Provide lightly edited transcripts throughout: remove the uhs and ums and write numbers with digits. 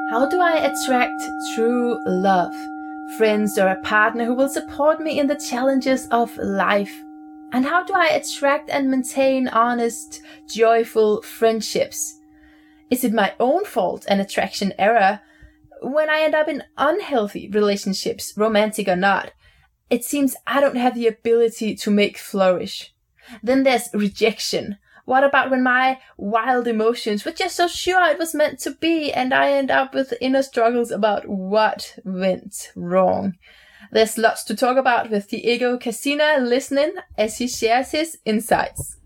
How do I attract true love? Friends or a partner who will support me in the challenges of life? And how do I attract and maintain honest, joyful friendships? Is it my own fault an attraction error? When I end up in unhealthy relationships, romantic or not, it seems I don't have the ability to make flourish. Then there's rejection. What about when my wild emotions were just so sure it was meant to be and I end up with inner struggles about what went wrong? There's lots to talk about with Diego Casina listening as he shares his insights.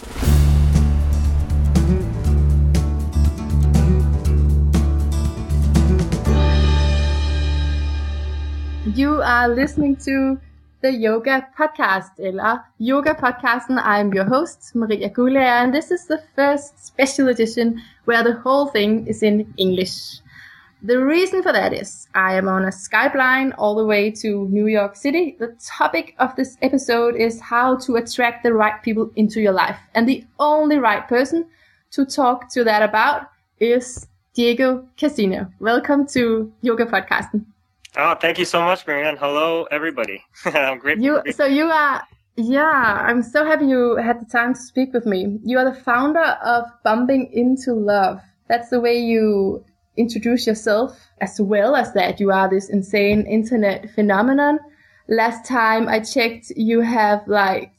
You are listening to the Yoga Podcast, eller Yoga Podcasten. I'm your host, Maria Gulager, and this is the first special edition where the whole thing is in English. The reason for that is I am on a Skype line all the way to New York City. The topic of this episode is how to attract the right people into your life. And the only right person to talk to that about is Diego Casina. Welcome to Yoga Podcasten. Oh, thank you so much, Marianne. Hello, everybody. I'm grateful. I'm so happy you had the time to speak with me. You are the founder of Bumping Into Love. That's the way you introduce yourself. As well as that, you are this insane internet phenomenon. Last time I checked, you have like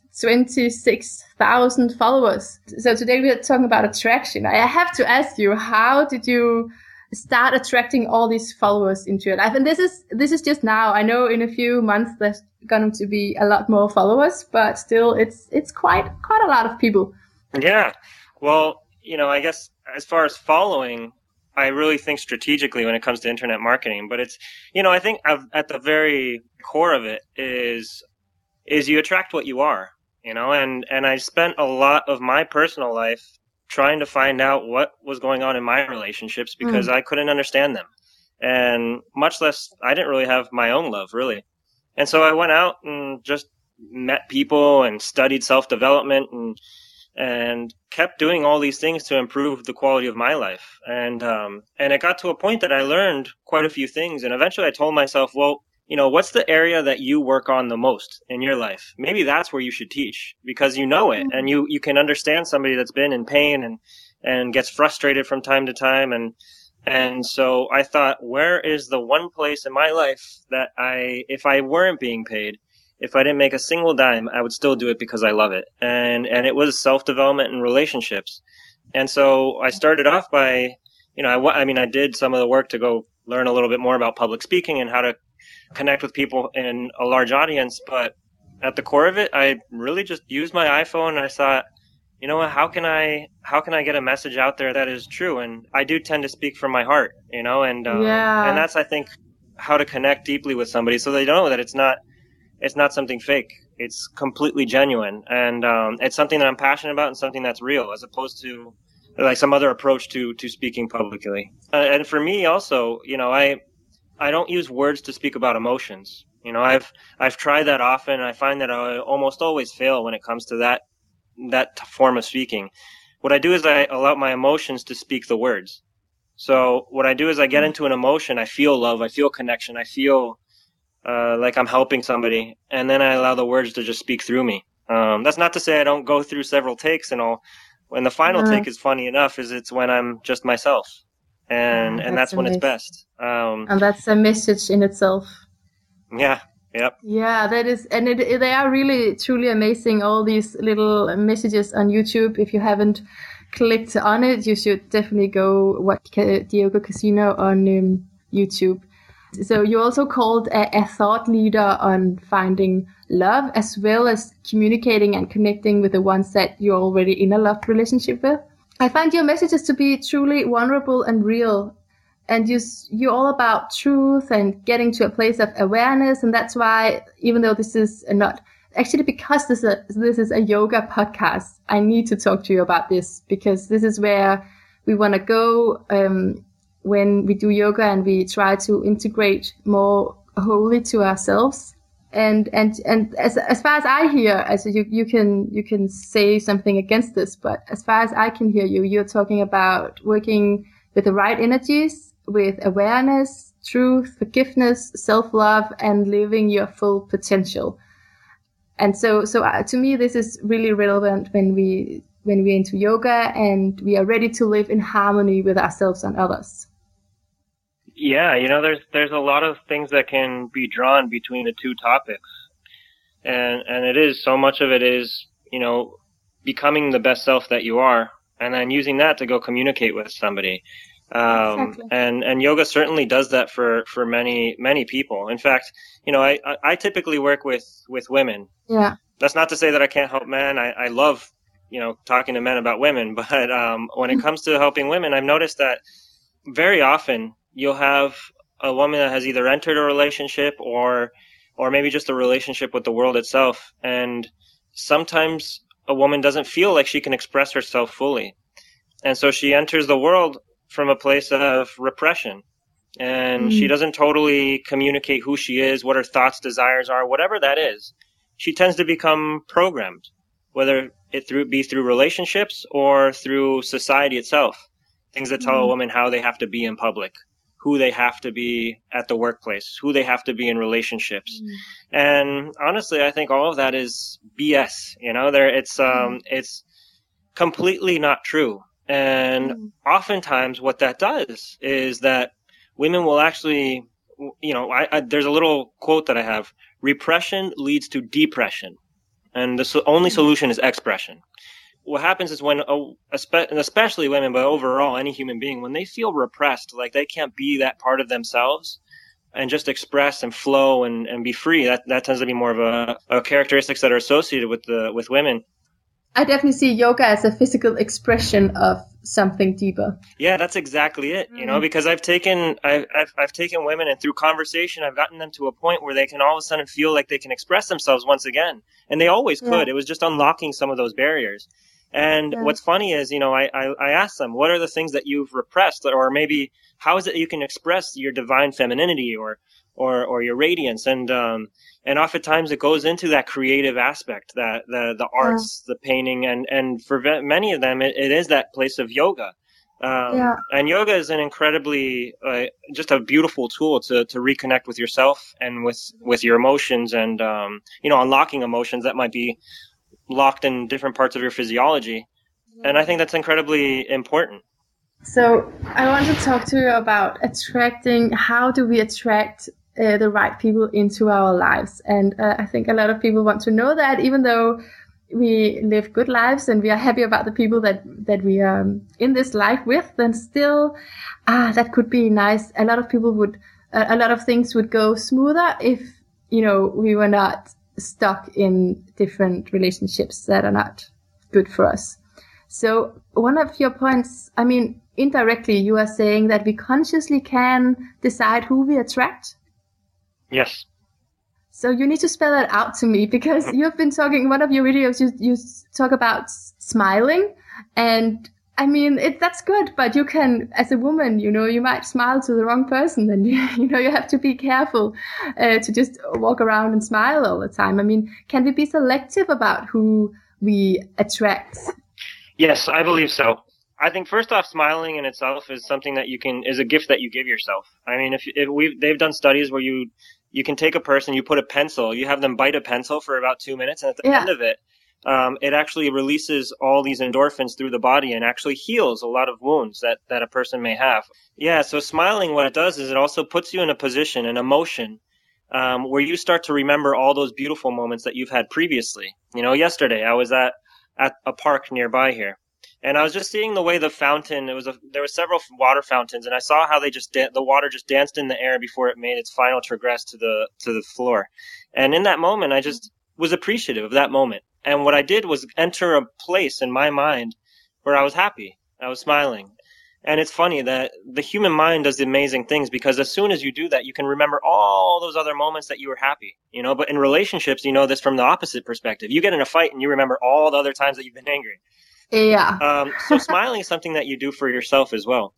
26,000 followers. So today we are talking about attraction. I have to ask you, how did you start attracting all these followers into your life? And this is just now. I know in a few months there's going to be a lot more followers, but still it's quite a lot of people. Yeah. Well, I guess as far as following, I really think strategically when it comes to internet marketing, but it's, I think at the very core of it is you attract what you are, and I spent a lot of my personal life trying to find out what was going on in my relationships because I couldn't understand them. And much less, I didn't really have my own love, really. And so I went out and just met people and studied self-development and kept doing all these things to improve the quality of my life. And it got to a point that I learned quite a few things. And eventually I told myself, well, what's the area that you work on the most in your life? Maybe that's where you should teach because you know it and you can understand somebody that's been in pain and gets frustrated from time to time. And so I thought, where is the one place in my life that if I weren't being paid, if I didn't make a single dime, I would still do it because I love it. And it was self-development and relationships. And so I started off by, I did some of the work to go learn a little bit more about public speaking and how to connect with people in a large audience. But at the core of it, I really just used my iPhone and I thought, how can I get a message out there that is true? And I do tend to speak from my heart, and that's, I think, how to connect deeply with somebody so they know that it's not something fake. It's completely genuine. And it's something that I'm passionate about and something that's real as opposed to like some other approach to speaking publicly. And for me also, I don't use words to speak about emotions. I've tried that often. I find that I almost always fail when it comes to that form of speaking. What I do is I allow my emotions to speak the words. So what I do is I get into an emotion. I feel love. I feel connection. I feel like I'm helping somebody. And then I allow the words to just speak through me. That's not to say I don't go through several takes and all. When the final take is funny enough is it's when I'm just myself. And that's when it's best. And that's a message in itself. Yeah. Yep. Yeah, that is, and they are really truly amazing. All these little messages on YouTube. If you haven't clicked on it, you should definitely go watch Diego Casina on YouTube. So you're also called a thought leader on finding love, as well as communicating and connecting with the ones that you're already in a love relationship with. I find your messages to be truly vulnerable and real. And you're all about truth and getting to a place of awareness. And that's why, even though this is not actually because this is a yoga podcast, I need to talk to you about this because this is where we want to go when we do yoga and we try to integrate more wholly to ourselves. And as far as I hear, as you can say something against this, but as far as I can hear you, you're talking about working with the right energies with awareness, truth, forgiveness, self-love, and living your full potential. And so to me, this is really relevant when we're into yoga and we are ready to live in harmony with ourselves and others. Yeah, there's a lot of things that can be drawn between the two topics. And it is, so much of it is, becoming the best self that you are, and then using that to go communicate with somebody. Exactly. And yoga certainly does that for many, many people. In fact, I typically work with women. Yeah. That's not to say that I can't help men. I love, talking to men about women, but, when it comes to helping women, I've noticed that very often you'll have a woman that has either entered a relationship or maybe just a relationship with the world itself. And sometimes a woman doesn't feel like she can express herself fully. And so she enters the world from a place of repression. And she doesn't totally communicate who she is, what her thoughts, desires are, whatever that is. She tends to become programmed, whether it be through relationships or through society itself. Things that tell a woman how they have to be in public, who they have to be at the workplace, who they have to be in relationships. And honestly, I think all of that is BS. It's completely not true. And oftentimes what that does is that women will actually, there's a little quote that I have: repression leads to depression. And the only solution is expression. What happens is when, and especially women, but overall any human being, when they feel repressed, like they can't be that part of themselves and just express and flow and be free, that tends to be more of a characteristics that are associated with women. I definitely see yoga as a physical expression of something deeper. Yeah, that's exactly it. Because I've taken women, and through conversation, I've gotten them to a point where they can all of a sudden feel like they can express themselves once again. And they always could. It was just unlocking some of those barriers. And what's funny is, I asked them, what are the things that you've repressed? Or maybe how is it you can express your divine femininity or your radiance? And oftentimes it goes into that creative aspect, that the arts, the painting, and for many of them, it is that place of yoga. And yoga is an incredibly, just a beautiful tool to reconnect with yourself and with your emotions and, unlocking emotions that might be locked in different parts of your physiology. And I think that's incredibly important. So I want to talk to you about how do we attract the right people into our lives. And I think a lot of people want to know that, even though we live good lives and we are happy about the people that we are in this life with, then still that could be nice. A lot of things would go smoother if we were not stuck in different relationships that are not good for us. So one of your points, indirectly you are saying that we consciously can decide who we attract. Yes. So you need to spell that out to me, because you've been talking in one of your videos, you talk about smiling, and that's good, but you can, as a woman, you might smile to the wrong person, and you have to be careful to just walk around and smile all the time. Can we be selective about who we attract? Yes, I believe so. I think first off, smiling in itself is something that is a gift that you give yourself. They've done studies where you can take a person, you put a pencil, you have them bite a pencil for about 2 minutes, and at the end of it, it actually releases all these endorphins through the body and actually heals a lot of wounds that a person may have. Yeah, so smiling, what it does is it also puts you in a position, an emotion, where you start to remember all those beautiful moments that you've had previously. Yesterday I was at a park nearby here, and I was just seeing the way the fountain, there were several water fountains, and I saw how the water just danced in the air before it made its final transgress to the floor. And in that moment, I just was appreciative of that moment. And what I did was enter a place in my mind where I was happy. I was smiling. And it's funny that the human mind does amazing things, because as soon as you do that, you can remember all those other moments that you were happy, but in relationships, this from the opposite perspective. You get in a fight and you remember all the other times that you've been angry. Yeah. So smiling is something that you do for yourself as well.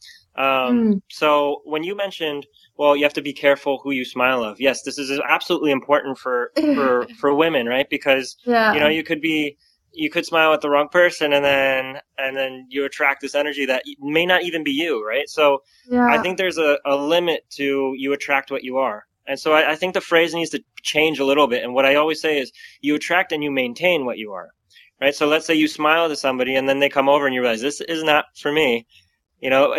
So when you mentioned, well, you have to be careful who you smile of. Yes, this is absolutely important for women, right? Because, you could be you could smile at the wrong person, and then you attract this energy that may not even be you, right? So I think there's a limit to you attract what you are. And so I think the phrase needs to change a little bit. And what I always say is you attract and you maintain what you are, right? So let's say you smile to somebody and then they come over and you realize this is not for me. You know,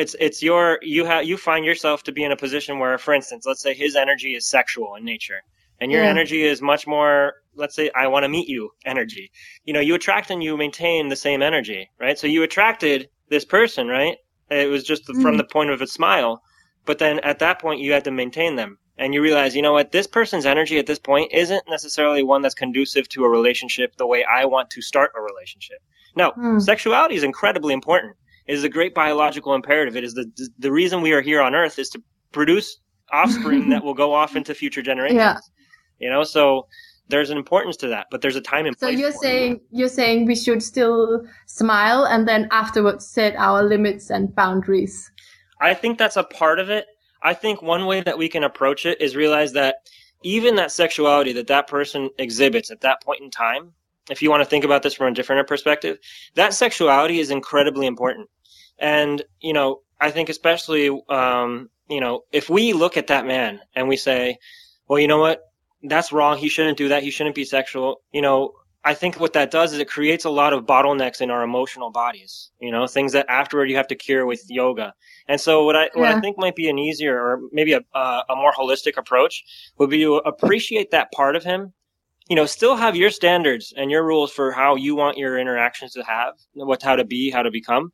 you find yourself to be in a position where, for instance, let's say his energy is sexual in nature and your energy is much more, let's say, I want to meet you energy. You know, you attract and you maintain the same energy, right? So you attracted this person, right? It was just from the point of a smile. But then at that point, you had to maintain them. And you realize, you know what, this person's energy at this point isn't necessarily one that's conducive to a relationship the way I want to start a relationship. Now, sexuality is incredibly important. It is a great biological imperative. It is the reason we are here on Earth is to produce offspring that will go off into future generations. Yeah. You know, so there's an importance to that, but there's a time and place. So you're saying we should still smile and then afterwards set our limits and boundaries. I think that's a part of it. I think one way that we can approach it is realize that even that sexuality that person exhibits at that point in time, if you want to think about this from a different perspective, that sexuality is incredibly important. And, you know, I think especially, you know, if we look at that man and we say, well, you know what, that's wrong. He shouldn't do that. He shouldn't be sexual. You know, I think what that does is it creates a lot of bottlenecks in our emotional bodies, you know, things that afterward you have to cure with yoga. And so what I think might be an easier or maybe a more holistic approach would be to appreciate that part of him. You know, still have your standards and your rules for how you want your interactions to have, how to be, how to become.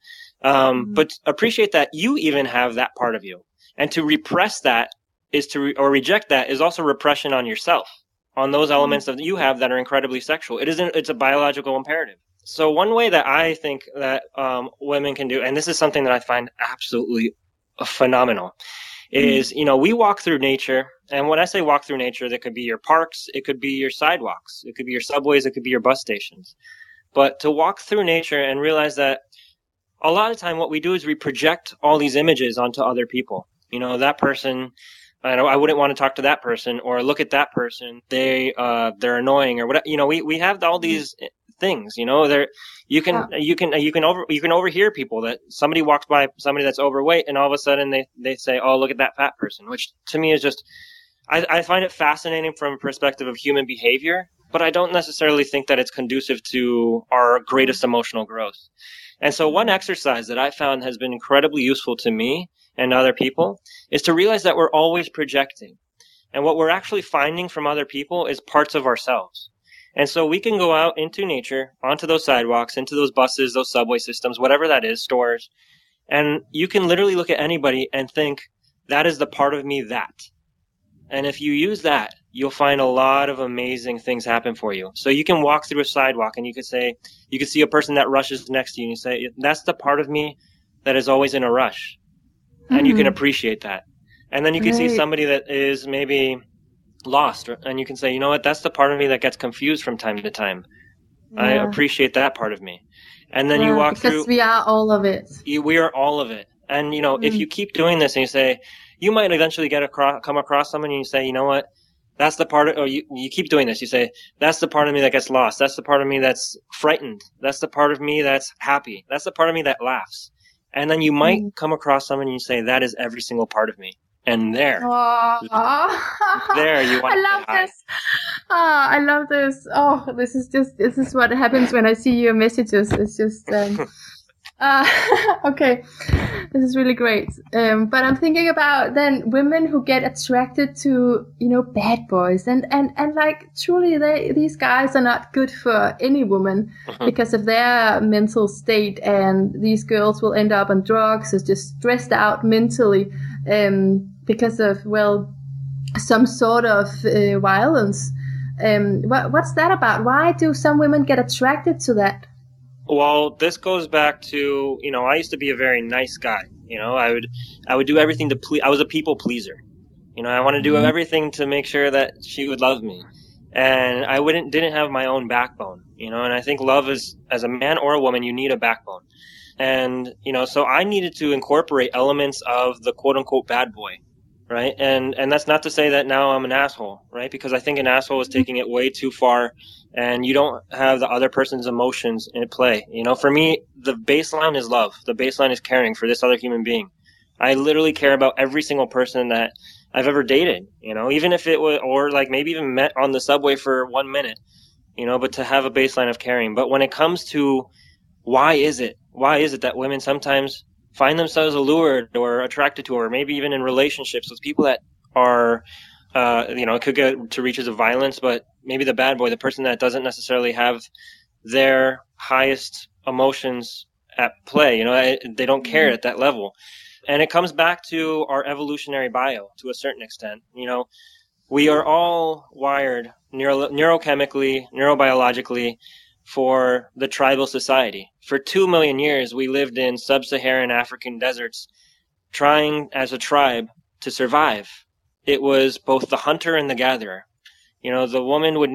But appreciate that you even have that part of you. And to repress that or reject that is also repression on yourself, on those elements that you have that are incredibly sexual. It's a biological imperative. So one way that I think that women can do, and this is something that I find absolutely phenomenal, is, you know, we walk through nature. And when I say walk through nature, that could be your parks, it could be your sidewalks, it could be your subways, it could be your bus stations. But to walk through nature and realize that a lot of time what we do is we project all these images onto other people. You know, that person, I wouldn't want to talk to that person, or look at that person, they're annoying, or whatever. You know, we have all these things, you know, you can overhear people that somebody walks by somebody that's overweight and all of a sudden they say, oh, look at that fat person, which to me is just, I find it fascinating from a perspective of human behavior, but I don't necessarily think that it's conducive to our greatest emotional growth. And so one exercise that I found has been incredibly useful to me and other people is to realize that we're always projecting. And what we're actually finding from other people is parts of ourselves. And so we can go out into nature, onto those sidewalks, into those buses, those subway systems, whatever that is, stores. And you can literally look at anybody and think, that is the part of me that. And if you use that, you'll find a lot of amazing things happen for you. So you can walk through a sidewalk and you could see a person that rushes next to you and you say, that's the part of me that is always in a rush. And you can appreciate that. And then you can see somebody that is maybe lost, and you can say, you know what, that's the part of me that gets confused from time to time. I appreciate that part of me. And then you walk through. Because we are all of it. We are all of it. And, you know, if you keep doing this and you say, you might eventually come across someone and you say, you know what, that's the part of, or you keep doing this. You say, that's the part of me that gets lost. That's the part of me that's frightened. That's the part of me that's happy. That's the part of me that laughs. And then you might come across someone and you say, that is every single part of me. And there you want I love this. I love this. Oh, this is what happens when I see your messages. It's just, okay. This is really great. But I'm thinking about then women who get attracted to, you know, bad boys and like truly these guys are not good for any woman because of their mental state, and these girls will end up on drugs or just stressed out mentally, because of, well, some sort of violence. What's that about? Why do some women get attracted to that? Well, this goes back to, you know, I used to be a very nice guy. You know, I would do everything to please. I was a people pleaser. You know, I want to do everything to make sure that she would love me. And I didn't have my own backbone, you know, and I think love is, as a man or a woman, you need a backbone. And, you know, so I needed to incorporate elements of the quote unquote bad boy, right? And that's not to say that now I'm an asshole, right? Because I think an asshole is taking it way too far, and you don't have the other person's emotions in play. You know, for me, the baseline is love. The baseline is caring for this other human being. I literally care about every single person that I've ever dated, you know, even if it was, or like maybe even met on the subway for 1 minute, you know, but to have a baseline of caring. But when it comes to why is it that women sometimes find themselves allured or attracted to, or maybe even in relationships with people that are, you know, it could get to reaches of violence, but maybe the bad boy, the person that doesn't necessarily have their highest emotions at play, you know, they don't care at that level. And it comes back to our evolutionary bio to a certain extent. You know, we are all wired neurochemically, neurobiologically for the tribal society. For 2 million years, we lived in sub-Saharan African deserts trying as a tribe to survive. It was both the hunter and the gatherer. You know, the woman would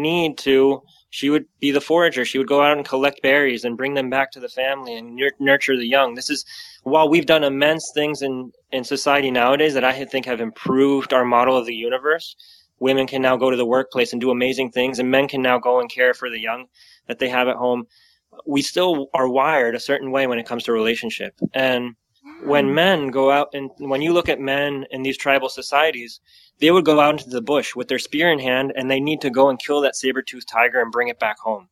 she would be the forager. She would go out and collect berries and bring them back to the family and nurture the young. This is, while we've done immense things in society nowadays that I think have improved our model of the universe, women can now go to the workplace and do amazing things, and men can now go and care for the young that they have at home. We still are wired a certain way when it comes to relationship. And when men go out, and when you look at men in these tribal societies, they would go out into the bush with their spear in hand, and they need to go and kill that saber-toothed tiger and bring it back home.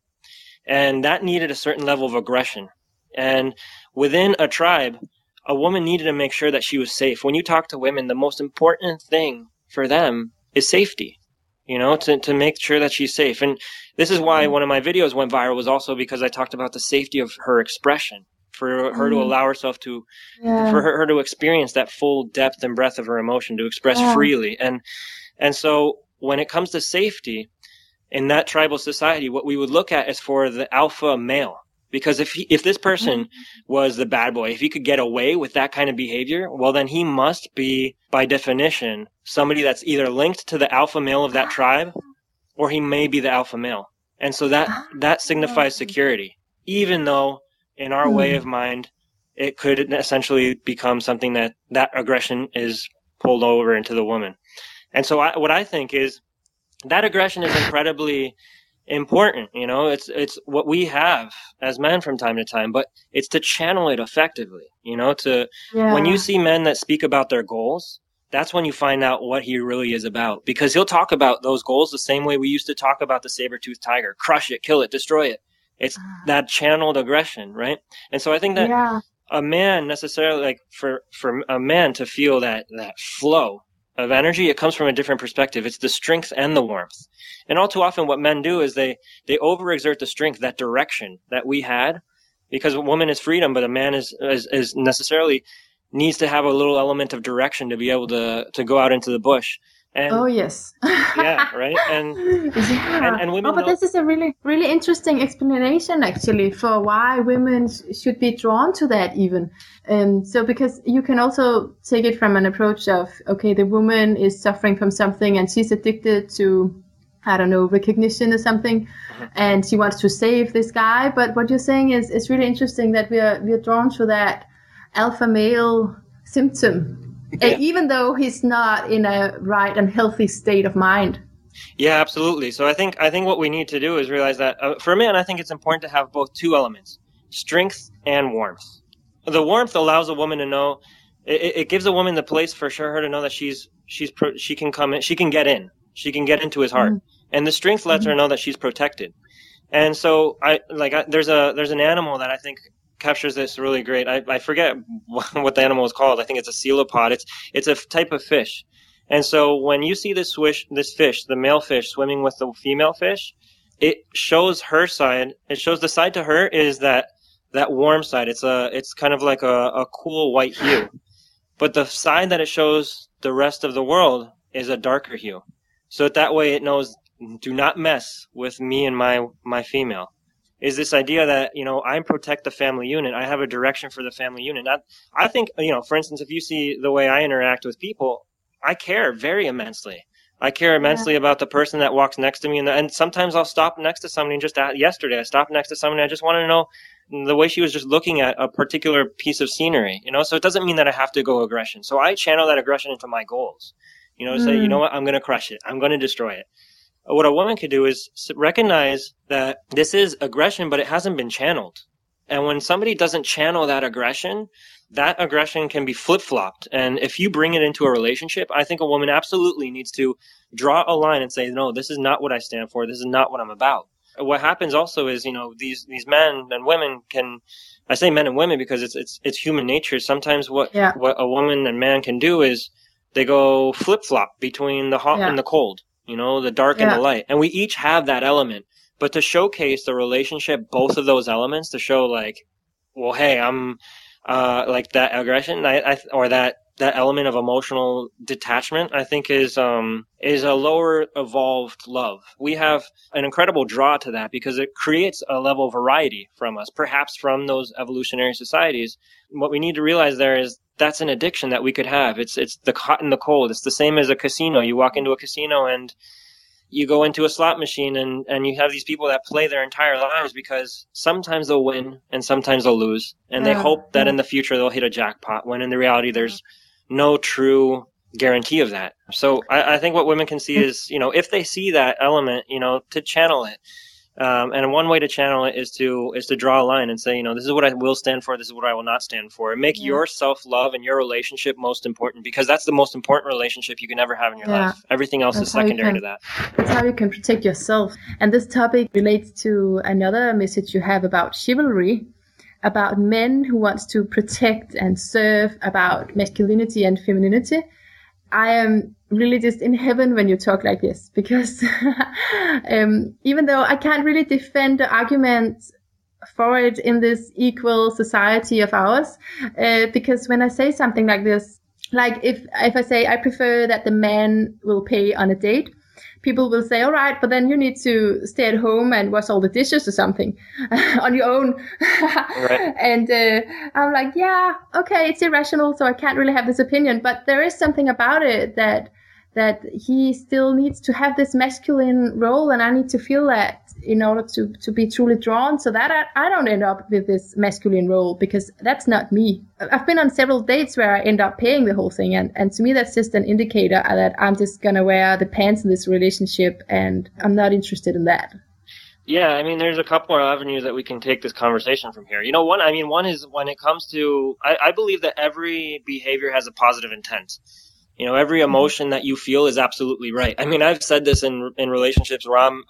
And that needed a certain level of aggression. And within a tribe, a woman needed to make sure that she was safe. When you talk to women, the most important thing for them is safety, you know, to make sure that she's safe. And this is why one of my videos went viral, was also because I talked about the safety of her expression, for her to allow herself to, for her to experience that full depth and breadth of her emotion, to express freely. And so when it comes to safety in that tribal society, what we would look at is for the alpha male. Because if this person was the bad boy, if he could get away with that kind of behavior, well, then he must be, by definition, somebody that's either linked to the alpha male of that tribe, or he may be the alpha male. And so that signifies security, even though in our way of mind, it could essentially become something that aggression is pulled over into the woman. And so what I think is that aggression is incredibly important. You know, it's what we have as men from time to time, but it's to channel it effectively, you know, when you see men that speak about their goals, that's when you find out what he really is about, because he'll talk about those goals the same way we used to talk about the saber-toothed tiger: crush it, kill it, destroy it. It's that channeled aggression, right? And so I think that a man necessarily, like for a man to feel that flow of energy, it comes from a different perspective. It's the strength and the warmth. And all too often what men do is they overexert the strength, that direction that we had, because a woman is freedom, but a man is necessarily needs to have a little element of direction to be able to go out into the bush. And, oh yes. Yeah, right. And women. But this is a really, really interesting explanation, actually, for why women should be drawn to that, even. So because you can also take it from an approach of, okay, the woman is suffering from something and she's addicted to, I don't know, recognition or something, and she wants to save this guy. But what you're saying is really interesting, that we are drawn to that alpha male symptom. Yeah. Even though he's not in a right and healthy state of mind. Yeah, absolutely. So I think what we need to do is realize that for a man, I think it's important to have both two elements: strength and warmth. The warmth allows a woman to know, it gives a woman the place for her to know that she can come in, she can get into his heart, and the strength lets her know that she's protected. And so there's an animal that I think captures this really great. I forget what the animal is called. I think it's a coelopod. It's a type of fish. And so when you see this fish, the male fish, swimming with the female fish, it shows her side. It shows the side to her is that warm side. It's kind of like a cool white hue. But the side that it shows the rest of the world is a darker hue. So that way it knows, do not mess with me and my female. Is this idea that, you know, I protect the family unit. I have a direction for the family unit. I think, you know, for instance, if you see the way I interact with people, I care very immensely. I care immensely about the person that walks next to me. And sometimes I'll stop next to somebody and yesterday I stopped next to somebody. I just want to know the way she was just looking at a particular piece of scenery, so it doesn't mean that I have to go aggression. So I channel that aggression into my goals, say, you know what, I'm going to crush it. I'm going to destroy it. What a woman could do is recognize that this is aggression, but it hasn't been channeled. And when somebody doesn't channel that aggression can be flip-flopped. And if you bring it into a relationship, I think a woman absolutely needs to draw a line and say, no, this is not what I stand for. This is not what I'm about. What happens also is, these men and women I say men and women because it's human nature. Sometimes what a woman and man can do is they go flip-flop between the hot and the cold, the dark and the light. And we each have that element. But to showcase the relationship, both of those elements, to show like, well, hey, I'm like that aggression, or that element of emotional detachment, I think is a lower evolved love. We have an incredible draw to that because it creates a level of variety from us, perhaps from those evolutionary societies. What we need to realize there is that's an addiction that we could have. It's the hot and the cold. It's the same as a casino. You walk into a casino and you go into a slot machine and you have these people that play their entire lives because sometimes they'll win and sometimes they'll lose. And they hope that in the future they'll hit a jackpot, when in the reality there's no true guarantee of that. So I think what women can see is, if they see that element, to channel it. And one way to channel it is to draw a line and say, this is what I will stand for. This is what I will not stand for. And make your self-love and your relationship most important, because that's the most important relationship you can ever have in your life. Everything else is secondary to that. That's how you can protect yourself. And this topic relates to another message you have about chivalry, about men who wants to protect and serve, about masculinity and femininity. I am really just in heaven when you talk like this, because even though I can't really defend the argument for it in this equal society of ours, because when I say something like this, like if I say I prefer that the man will pay on a date, people will say, all right, but then you need to stay at home and wash all the dishes or something on your own. Right. And I'm like, yeah, okay, it's irrational, so I can't really have this opinion. But there is something about it that he still needs to have this masculine role, and I need to feel that in order to be truly drawn, so that I don't end up with this masculine role, because that's not me. I've been on several dates where I end up paying the whole thing, and to me that's just an indicator that I'm just gonna wear the pants in this relationship, and I'm not interested in that. Yeah, I mean, there's a couple of avenues that we can take this conversation from here. One is when it comes to, I believe that every behavior has a positive intent. Every emotion that you feel is absolutely right. I mean, I've said this in relationships where I'm,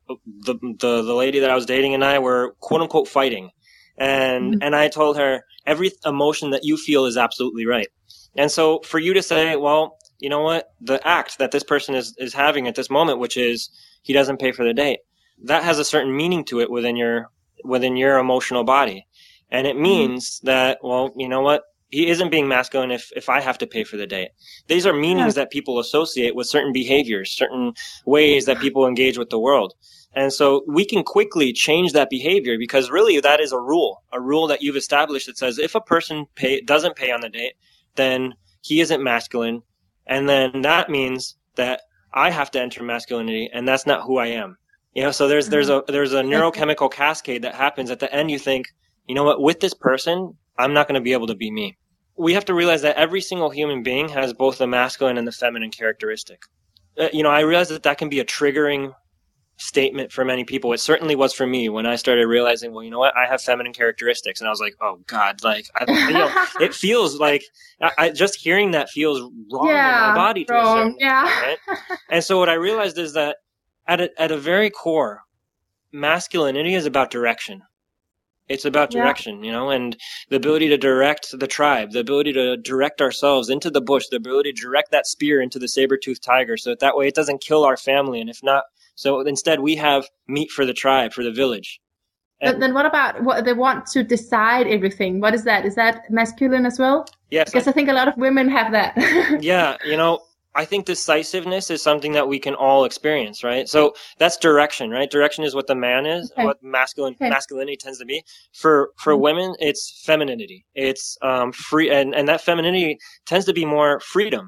the lady that I was dating and I were quote unquote fighting. And I told her, every emotion that you feel is absolutely right. And so for you to say, well, you know what, the act that this person is having at this moment, which is he doesn't pay for the date, that has a certain meaning to it within your emotional body. And it means that, well, you know what, he isn't being masculine if I have to pay for the date. These are meanings that people associate with certain behaviors, certain ways that people engage with the world. And so we can quickly change that behavior, because really that is a rule that you've established that says if a person doesn't pay on the date, then he isn't masculine. And then that means that I have to enter masculinity, and that's not who I am. So there's a neurochemical cascade that happens at the end. You think, you know what, with this person, I'm not going to be able to be me. We have to realize that every single human being has both the masculine and the feminine characteristic. I realize that can be a triggering statement for many people. It certainly was for me when I started realizing, well, you know what, I have feminine characteristics. And I was like, oh God, like, it feels like, just hearing that feels wrong in my body to a certain extent, right? And so what I realized is that at a very core, masculinity is about direction. It's about direction, and the ability to direct the tribe, the ability to direct ourselves into the bush, the ability to direct that spear into the saber-toothed tiger, so that way it doesn't kill our family. And if not, so instead we have meat for the tribe, for the village. But then what about what they want to decide everything? What is that? Is that masculine as well? Yes. Because I think a lot of women have that. Yeah, I think decisiveness is something that we can all experience, right? So that's direction, right? Direction is what the man is, what masculinity tends to be. For women, it's femininity. It's free, and that femininity tends to be more freedom.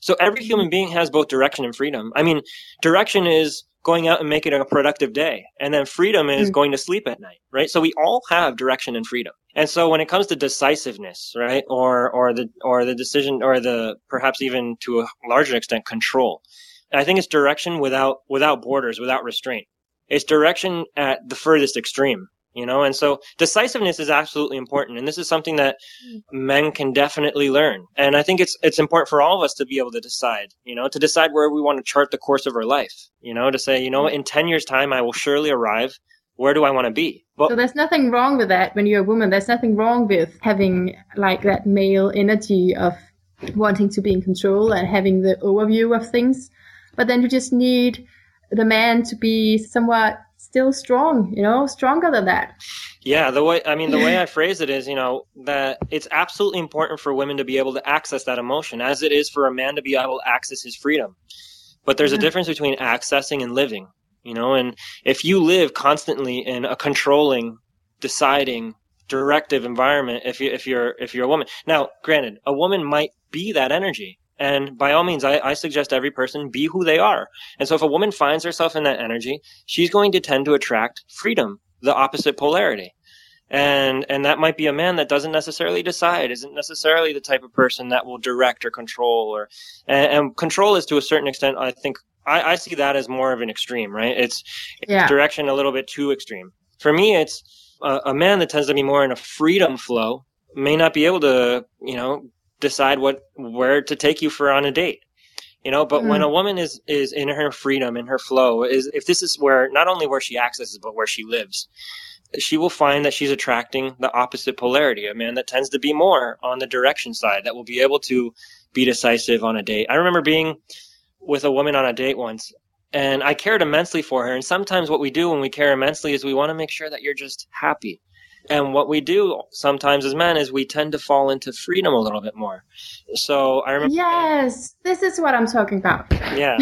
So every human being has both direction and freedom. I mean, direction is going out and making it a productive day. And then freedom is going to sleep at night, right? So we all have direction and freedom. And so when it comes to decisiveness, right, or the decision, or the perhaps even to a larger extent control, I think it's direction without borders, without restraint. It's direction at the furthest extreme, and so decisiveness is absolutely important. And this is something that men can definitely learn. And I think it's important for all of us to be able to decide, to decide where we want to chart the course of our life, to say, in 10 years time, I will surely arrive. Where do I want to be? Well, so there's nothing wrong with that when you're a woman. There's nothing wrong with having like that male energy of wanting to be in control and having the overview of things. But then you just need the man to be somewhat still strong, stronger than that. Yeah, the way I phrase it is, that it's absolutely important for women to be able to access that emotion, as it is for a man to be able to access his freedom. But there's a difference between accessing and living, and if you live constantly in a controlling, deciding, directive environment, if you're a woman. Now, granted, a woman might be that energy. And by all means, I suggest every person be who they are. And so if a woman finds herself in that energy, she's going to tend to attract freedom, the opposite polarity. And that might be a man that doesn't necessarily decide, isn't necessarily the type of person that will direct or control, and control is to a certain extent, I think, I see that as more of an extreme, right? It's direction a little bit too extreme. For me, it's a man that tends to be more in a freedom flow may not be able to, decide where to take you on a date, but when a woman is in her freedom, in her flow, if this is where, not only where she accesses, but where she lives, she will find that she's attracting the opposite polarity, a man that tends to be more on the direction side, that will be able to be decisive on a date. I remember being with a woman on a date once, and I cared immensely for her. And sometimes what we do when we care immensely is we want to make sure that you're just happy. And what we do sometimes as men is we tend to fall into freedom a little bit more. So I remember. Yes, this is what I'm talking about. Yeah.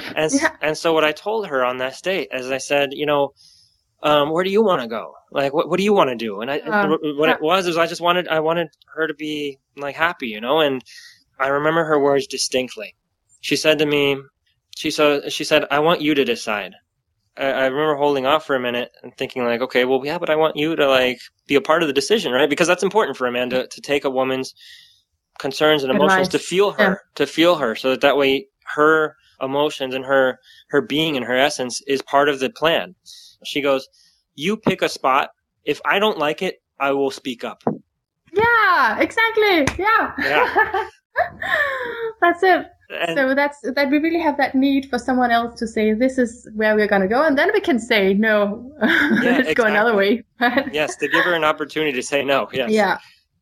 And so what I told her on that date, as I said, where do you want to go? Like, what do you want to do? And it was I wanted her to be like happy, and I remember her words distinctly. She said to me, she said, I want you to decide. I remember holding off for a minute and thinking like, okay, well, yeah, but I want you to like be a part of the decision, right? Because that's important for a man to take a woman's concerns and emotions, to feel her, so that way her emotions and her being and her essence is part of the plan. She goes, you pick a spot. If I don't like it, I will speak up. Yeah, exactly. Yeah. That's it. So that we really have that need for someone else to say, this is where we're going to go. And then we can say, no, let's go another way. Yes, to give her an opportunity to say no. Yes. Yeah.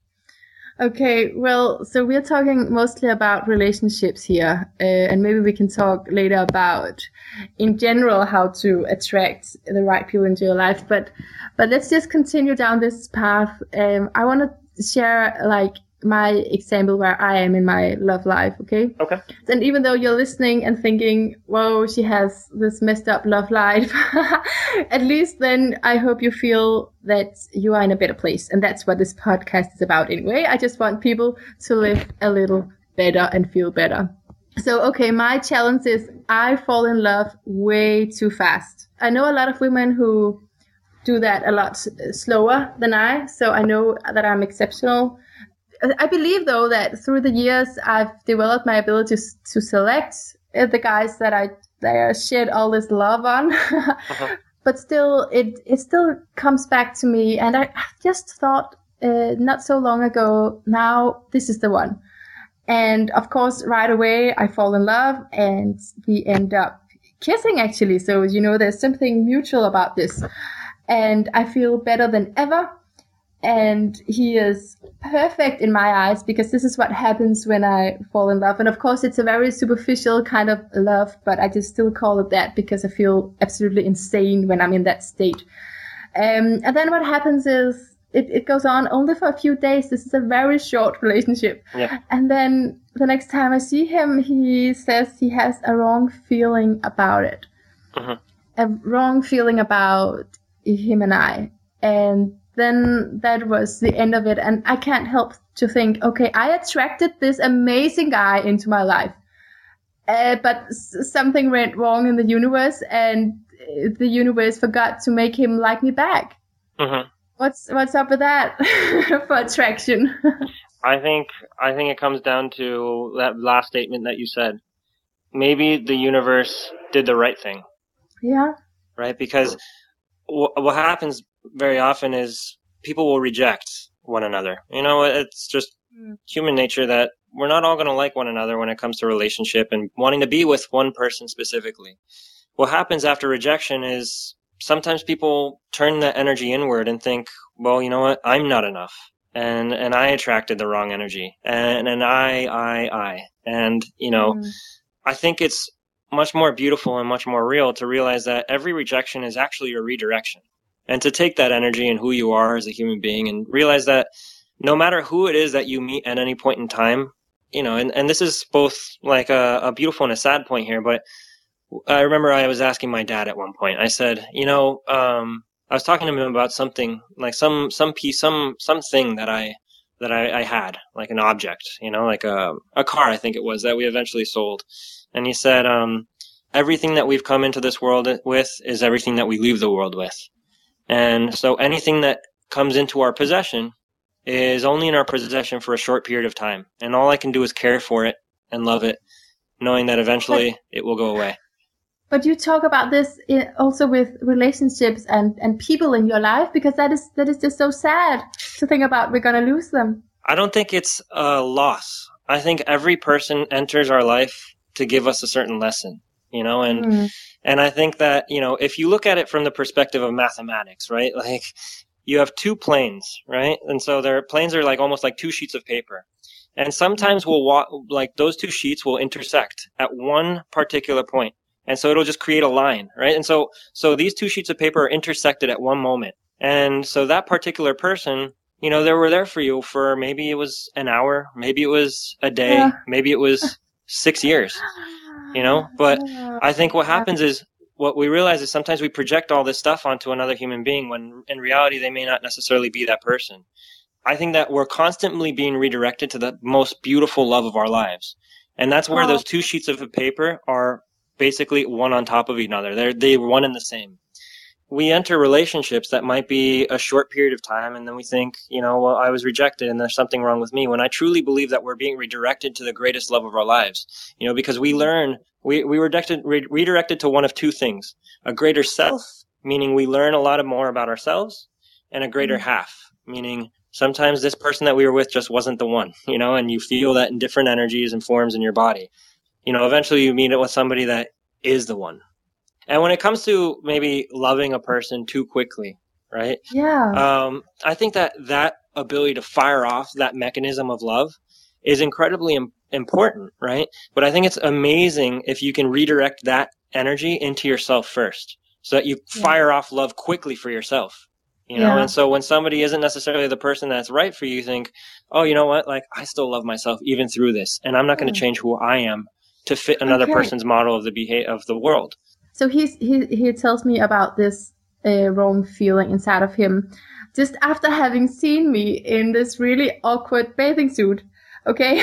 Okay, well, so we're talking mostly about relationships here. And maybe we can talk later about, in general, how to attract the right people into your life. But let's just continue down this path. I want to share, like, my example where I am in my love life, okay? Okay. And even though you're listening and thinking, whoa, she has this messed up love life, at least then I hope you feel that you are in a better place. And that's what this podcast is about anyway. I just want people to live a little better and feel better. So, okay, my challenge is I fall in love way too fast. I know a lot of women who do that a lot slower than I, so I know that I'm exceptional. I believe, though, that through the years, I've developed my ability to select the guys that I shed all this love on. But still, it still comes back to me. And I just thought not so long ago, now this is the one. And of course, right away, I fall in love and we end up kissing, actually. So, there's something mutual about this. And I feel better than ever. And he is perfect in my eyes, because this is what happens when I fall in love. And of course, it's a very superficial kind of love, but I just still call it that because I feel absolutely insane when I'm in that state. And then what happens is it goes on only for a few days. This is a very short relationship. Yeah. And then the next time I see him, he says he has a wrong feeling about it. A wrong feeling about him and I. And then that was the end of it. And I can't help to think, okay, I attracted this amazing guy into my life. but something went wrong in the universe, and the universe forgot to make him like me back. Mm-hmm. What's up with that for attraction? I think it comes down to that last statement that you said. Maybe the universe did the right thing. Yeah. Right? Because what happens very often is people will reject one another. It's just human nature that we're not all going to like one another when it comes to relationship and wanting to be with one person specifically. What happens after rejection is sometimes people turn that energy inward and think, well, you know what? I'm not enough. And I attracted the wrong energy. And I. And, I think it's much more beautiful and much more real to realize that every rejection is actually a redirection. And to take that energy and who you are as a human being and realize that no matter who it is that you meet at any point in time, and this is both like a beautiful and a sad point here, but I remember I was asking my dad at one point, I said, I was talking to him about something, like some piece, something that I had, like an object, like a car, I think it was, that we eventually sold. And he said, everything that we've come into this world with is everything that we leave the world with. And so anything that comes into our possession is only in our possession for a short period of time. And all I can do is care for it and love it, knowing that eventually it will go away. But you talk about this also with relationships and people in your life, because that is just so sad to think about we're going to lose them. I don't think it's a loss. I think every person enters our life to give us a certain lesson, and I think that, if you look at it from the perspective of mathematics, right? Like you have two planes, right? And so their planes are like almost like two sheets of paper. And sometimes like those two sheets will intersect at one particular point. And so it'll just create a line, right? And so these two sheets of paper are intersected at one moment. And so that particular person, they were there for you for maybe it was an hour, maybe it was a day, maybe it was 6 years, but I think what happens is what we realize is sometimes we project all this stuff onto another human being when in reality they may not necessarily be that person. I think that we're constantly being redirected to the most beautiful love of our lives. And that's where those two sheets of paper are basically one on top of each other. They're one and the same. We enter relationships that might be a short period of time, and then we think, well, I was rejected and there's something wrong with me, when I truly believe that we're being redirected to the greatest love of our lives. Because we learn, we were redirected to one of two things: a greater self, meaning we learn a lot more about ourselves, and a greater half, meaning sometimes this person that we were with just wasn't the one, and you feel that in different energies and forms in your body. Eventually you meet it with somebody that is the one. And when it comes to maybe loving a person too quickly, right? Yeah. I think that ability to fire off that mechanism of love is incredibly important, right? But I think it's amazing if you can redirect that energy into yourself first, so that you fire off love quickly for yourself. And so when somebody isn't necessarily the person that's right for you, you think, oh, you know what? Like, I still love myself even through this, and I'm not going to change who I am to fit another person's model of the world. So he tells me about this wrong feeling inside of him just after having seen me in this really awkward bathing suit. Okay.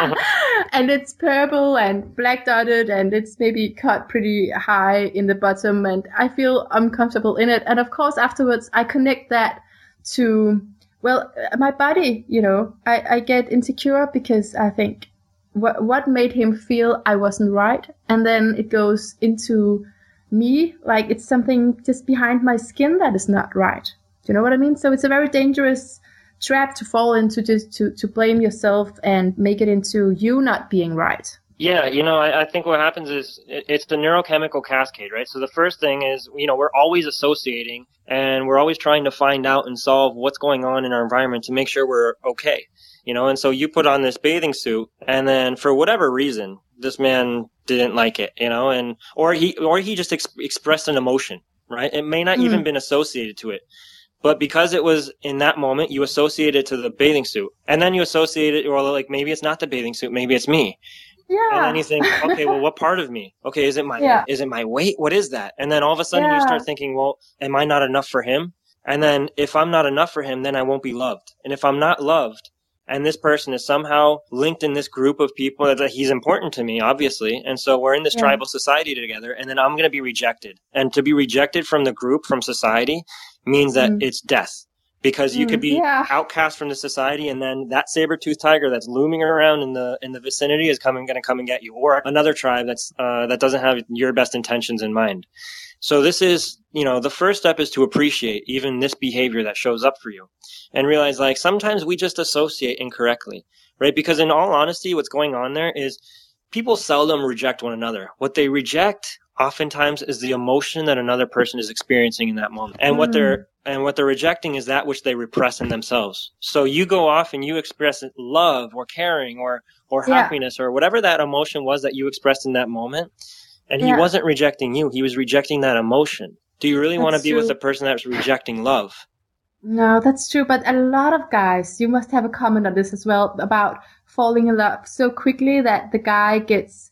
And it's purple and black dotted, and it's maybe cut pretty high in the bottom, and I feel uncomfortable in it. And of course, afterwards, I connect that to, well, my body, I get insecure because I think what made him feel I wasn't right. And then it goes into me, like it's something just behind my skin that is not right. Do you know what I mean? So it's a very dangerous trap to fall into, just to blame yourself and make it into you not being right. Yeah, I think what happens is it's the neurochemical cascade, right? So the first thing is, we're always associating, and we're always trying to find out and solve what's going on in our environment to make sure we're okay. And so you put on this bathing suit, and then for whatever reason, this man didn't like it, or he just expressed an emotion, right? It may not even been associated to it. But because it was in that moment, you associate it to the bathing suit. And then you associate it, or like maybe it's not the bathing suit, maybe it's me. Yeah. And then you think, okay, well, what part of me? Okay, is it my weight? What is that? And then all of a sudden you start thinking, well, am I not enough for him? And then if I'm not enough for him, then I won't be loved. And if I'm not loved, and this person is somehow linked in this group of people that he's important to me, obviously. And so we're in this tribal society together, and then I'm going to be rejected. And to be rejected from the group, from society, means that it's death. Because you could be outcast from the society, and then that saber-toothed tiger that's looming around in the vicinity is going to come and get you, or another tribe that doesn't have your best intentions in mind. So this is, the first step is to appreciate even this behavior that shows up for you, and realize like sometimes we just associate incorrectly, right? Because in all honesty, what's going on there is people seldom reject one another. What they reject oftentimes is the emotion that another person is experiencing in that moment. And what they're rejecting is that which they repress in themselves. So you go off and you express love or caring or happiness or whatever that emotion was that you expressed in that moment. And he wasn't rejecting you. He was rejecting that emotion. Do you really want to be with a person that's rejecting love? No, that's true. But a lot of guys, you must have a comment on this as well, about falling in love so quickly that the guy gets,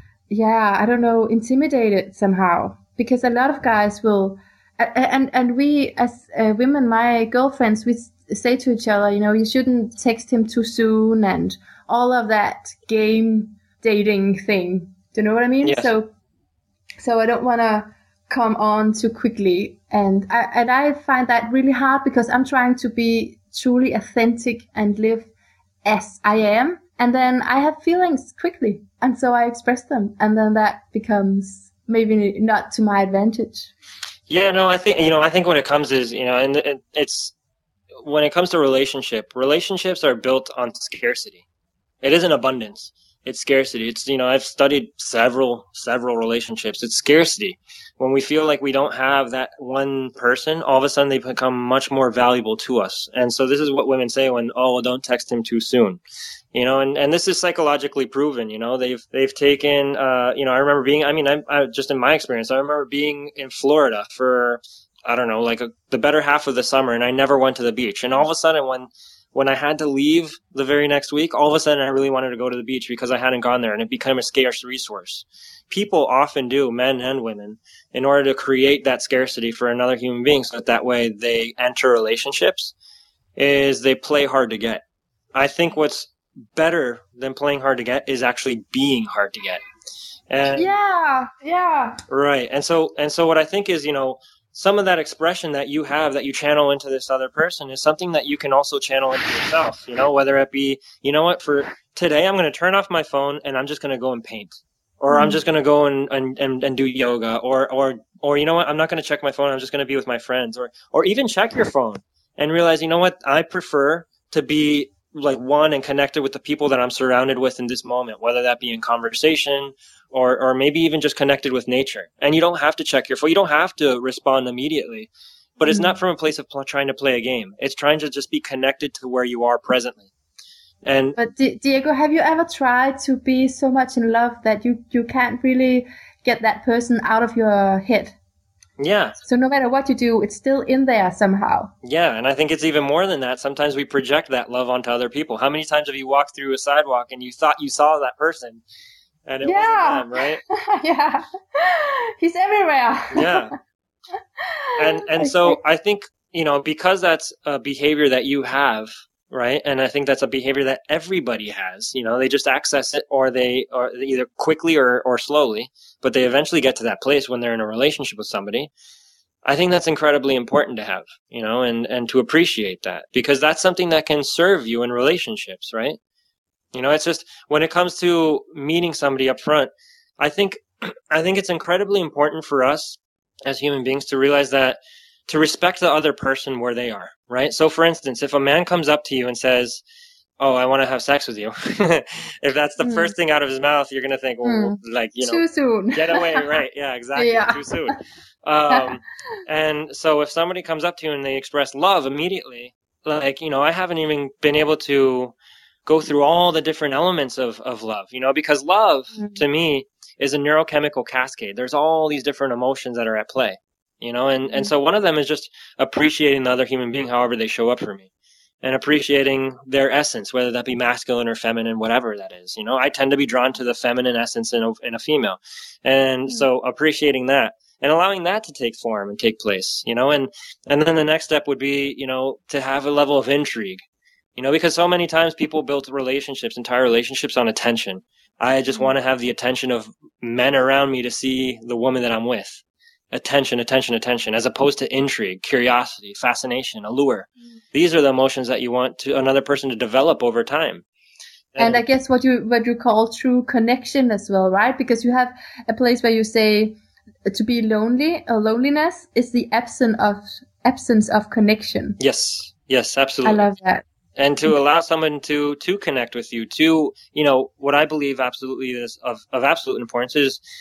I don't know, intimidated somehow. Because a lot of guys will, and we as women, my girlfriends, we say to each other, you shouldn't text him too soon and all of that game dating thing. Do you know what I mean? Yes. So I don't want to come on too quickly. And I find that really hard because I'm trying to be truly authentic and live as I am. And then I have feelings quickly. And so I express them. And then that becomes maybe not to my advantage. Yeah, no, I think when it comes is, and it's, when it comes to relationships are built on scarcity. It isn't abundance. It's scarcity. It's, I've studied several relationships. It's scarcity. When we feel like we don't have that one person, all of a sudden they become much more valuable to us. And so this is what women say when, don't text him too soon. And this is psychologically proven, they've taken, I remember being, I just in my experience, I remember being in Florida for, I don't know, like the better half of the summer, and I never went to the beach. And all of a sudden when I had to leave the very next week, all of a sudden I really wanted to go to the beach because I hadn't gone there, and it became a scarce resource. People often do, men and women, in order to create that scarcity for another human being so that way they enter relationships, is they play hard to get. I think what's better than playing hard to get is actually being hard to get. And, right. And so what I think is, some of that expression that you have that you channel into this other person is something that you can also channel into yourself, whether it be, for today, I'm going to turn off my phone and I'm just going to go and paint, or I'm just going to go and do yoga, or I'm not going to check my phone. I'm just going to be with my friends, or even check your phone and realize, I prefer to be like one and connected with the people that I'm surrounded with in this moment, whether that be in conversation or maybe even just connected with nature. And you don't have to check your phone. You don't have to respond immediately, but it's not from a place of trying to play a game. It's trying to just be connected to where you are presently. But Diego, have you ever tried to be so much in love that you can't really get that person out of your head? Yeah. So no matter what you do, it's still in there somehow. Yeah, and I think it's even more than that. Sometimes we project that love onto other people. How many times have you walked through a sidewalk and you thought you saw that person, and it wasn't them, right? Yeah. He's everywhere. Yeah. And so I think, because that's a behavior that you have, right? And I think that's a behavior that everybody has. They just access it, or either quickly or slowly, but they eventually get to that place when they're in a relationship with somebody. I think that's incredibly important to have, and to appreciate that, because that's something that can serve you in relationships, right? It's just when it comes to meeting somebody up front, I think it's incredibly important for us as human beings to realize that, to respect the other person where they are, right? So for instance, if a man comes up to you and says, "Oh, I want to have sex with you," if that's the first thing out of his mouth, you're going to think, too soon. Get away, right? Yeah, exactly. Yeah. Too soon. And so if somebody comes up to you and they express love immediately, I haven't even been able to go through all the different elements of love, because love to me is a neurochemical cascade. There's all these different emotions that are at play, and so one of them is just appreciating the other human being, however they show up for me, and appreciating their essence, whether that be masculine or feminine, whatever that is. I tend to be drawn to the feminine essence in a female. And so appreciating that and allowing that to take form and take place, and then the next step would be, to have a level of intrigue. Because so many times people build relationships, entire relationships, on attention. I just want to have the attention of men around me to see the woman that I'm with. Attention, attention, attention, as opposed to intrigue, curiosity, fascination, allure. These are the emotions that you want another person to develop over time. And I guess what you call true connection as well, right? Because you have a place where you say to be lonely, or loneliness is the absence of connection. Yes, absolutely. I love that. And to allow someone to connect with you, what I believe absolutely is of absolute importance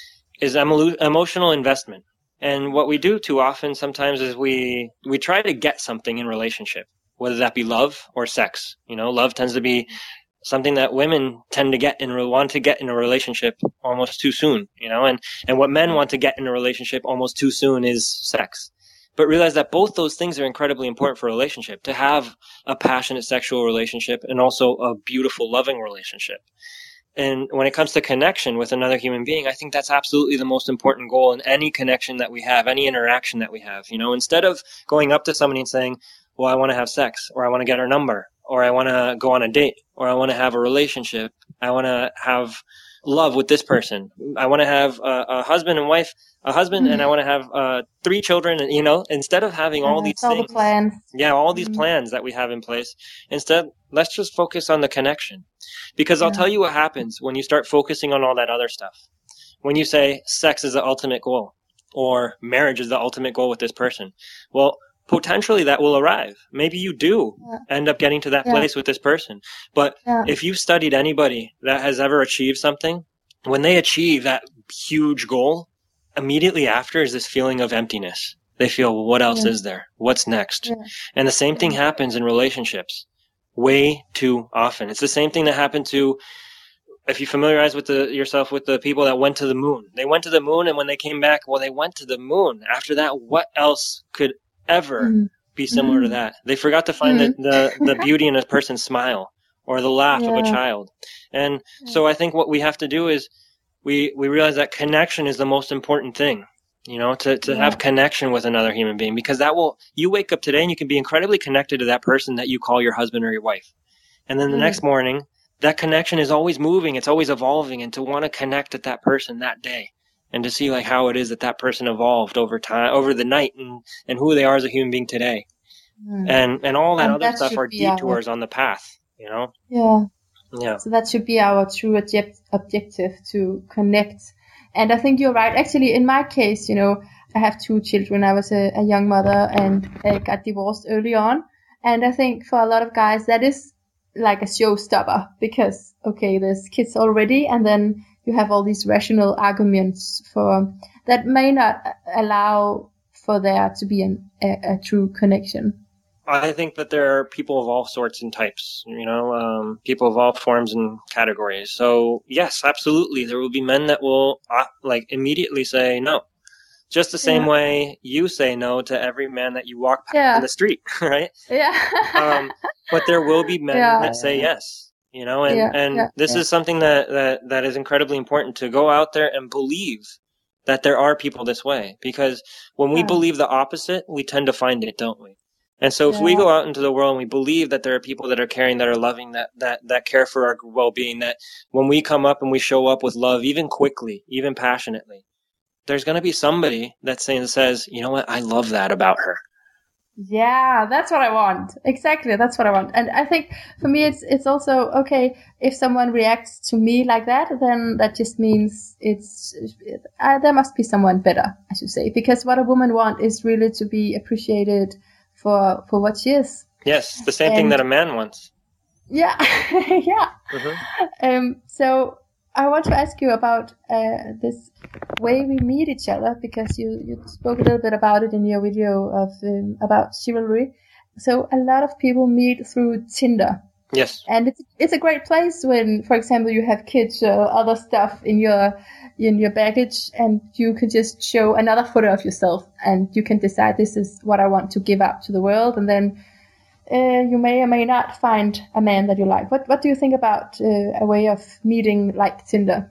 is emotional investment. And what we do too often sometimes is we try to get something in relationship, whether that be love or sex. Love tends to be something that women tend to want to get in a relationship almost too soon, and what men want to get in a relationship almost too soon is sex. But realize that both those things are incredibly important for a relationship, to have a passionate sexual relationship and also a beautiful, loving relationship. And when it comes to connection with another human being, I think that's absolutely the most important goal in any connection that we have, any interaction that we have. Instead of going up to somebody and saying, well, I want to have sex, or I want to get her number, or I want to go on a date, or I want to have a relationship, I want to have love with this person, I want to have a husband and wife, and I want to have 3 children, and instead of having all these things, the plans. All these plans that we have in place, instead, let's just focus on the connection. Because I'll tell you what happens when you start focusing on all that other stuff. When you say sex is the ultimate goal, or marriage is the ultimate goal with this person, well, potentially that will arrive. Maybe you do end up getting to that place with this person. But if you've studied anybody that has ever achieved something, when they achieve that huge goal, immediately after is this feeling of emptiness. They feel, well, what else is there? What's next? And the same thing happens in relationships way too often. It's the same thing that happened to, if you familiarize yourself with the people that went to the moon. They went to the moon, and when they came back, well, they went to the moon. After that, what else could ever be similar to that? They forgot to find the beauty in a person's smile or the laugh of a child. And so I think what we have to do is we realize that connection is the most important thing, to have connection with another human being, because you wake up today and you can be incredibly connected to that person that you call your husband or your wife. And then the next morning, that connection is always moving. It's always evolving. And to want to connect with that person that day, and to see how it is that person evolved over time, over the night, and who they are as a human being today. And all that other stuff are detours on the path, Yeah. So that should be our true objective, to connect. And I think you're right. Actually, in my case, I have 2 children. I was a young mother and got divorced early on. And I think for a lot of guys, that is like a showstopper, because, okay, there's kids already, and then you have all these rational arguments that may not allow for there to be a true connection. I think that there are people of all sorts and types, people of all forms and categories. So yes, absolutely. There will be men that will immediately say no. Just the same way you say no to every man that you walk past in the street, right? Yeah. But there will be men that say yes, and this is something that is incredibly important, to go out there and believe that there are people this way. Because when we believe the opposite, we tend to find it, don't we? And so if we go out into the world and we believe that there are people that are caring, that are loving, that care for our well-being, that when we come up and we show up with love, even quickly, even passionately, there's going to be somebody that says, you know what, I love that about her. Yeah, that's what I want. Exactly, that's what I want. And I think for me, it's also, okay, if someone reacts to me like that, then that just means there must be someone better, I should say. Because what a woman wants is really to be appreciated for what she is. Yes, the same thing that a man wants. Yeah, yeah. Mm-hmm. So I want to ask you about this way we meet each other, because you spoke a little bit about it in your video about chivalry. So a lot of people meet through Tinder. Yes. And it's a great place when, for example, you have kids or other stuff in your baggage, and you can just show another photo of yourself, and you can decide, this is what I want to give out to the world, and then you may or may not find a man that you like. What do you think about a way of meeting like Tinder?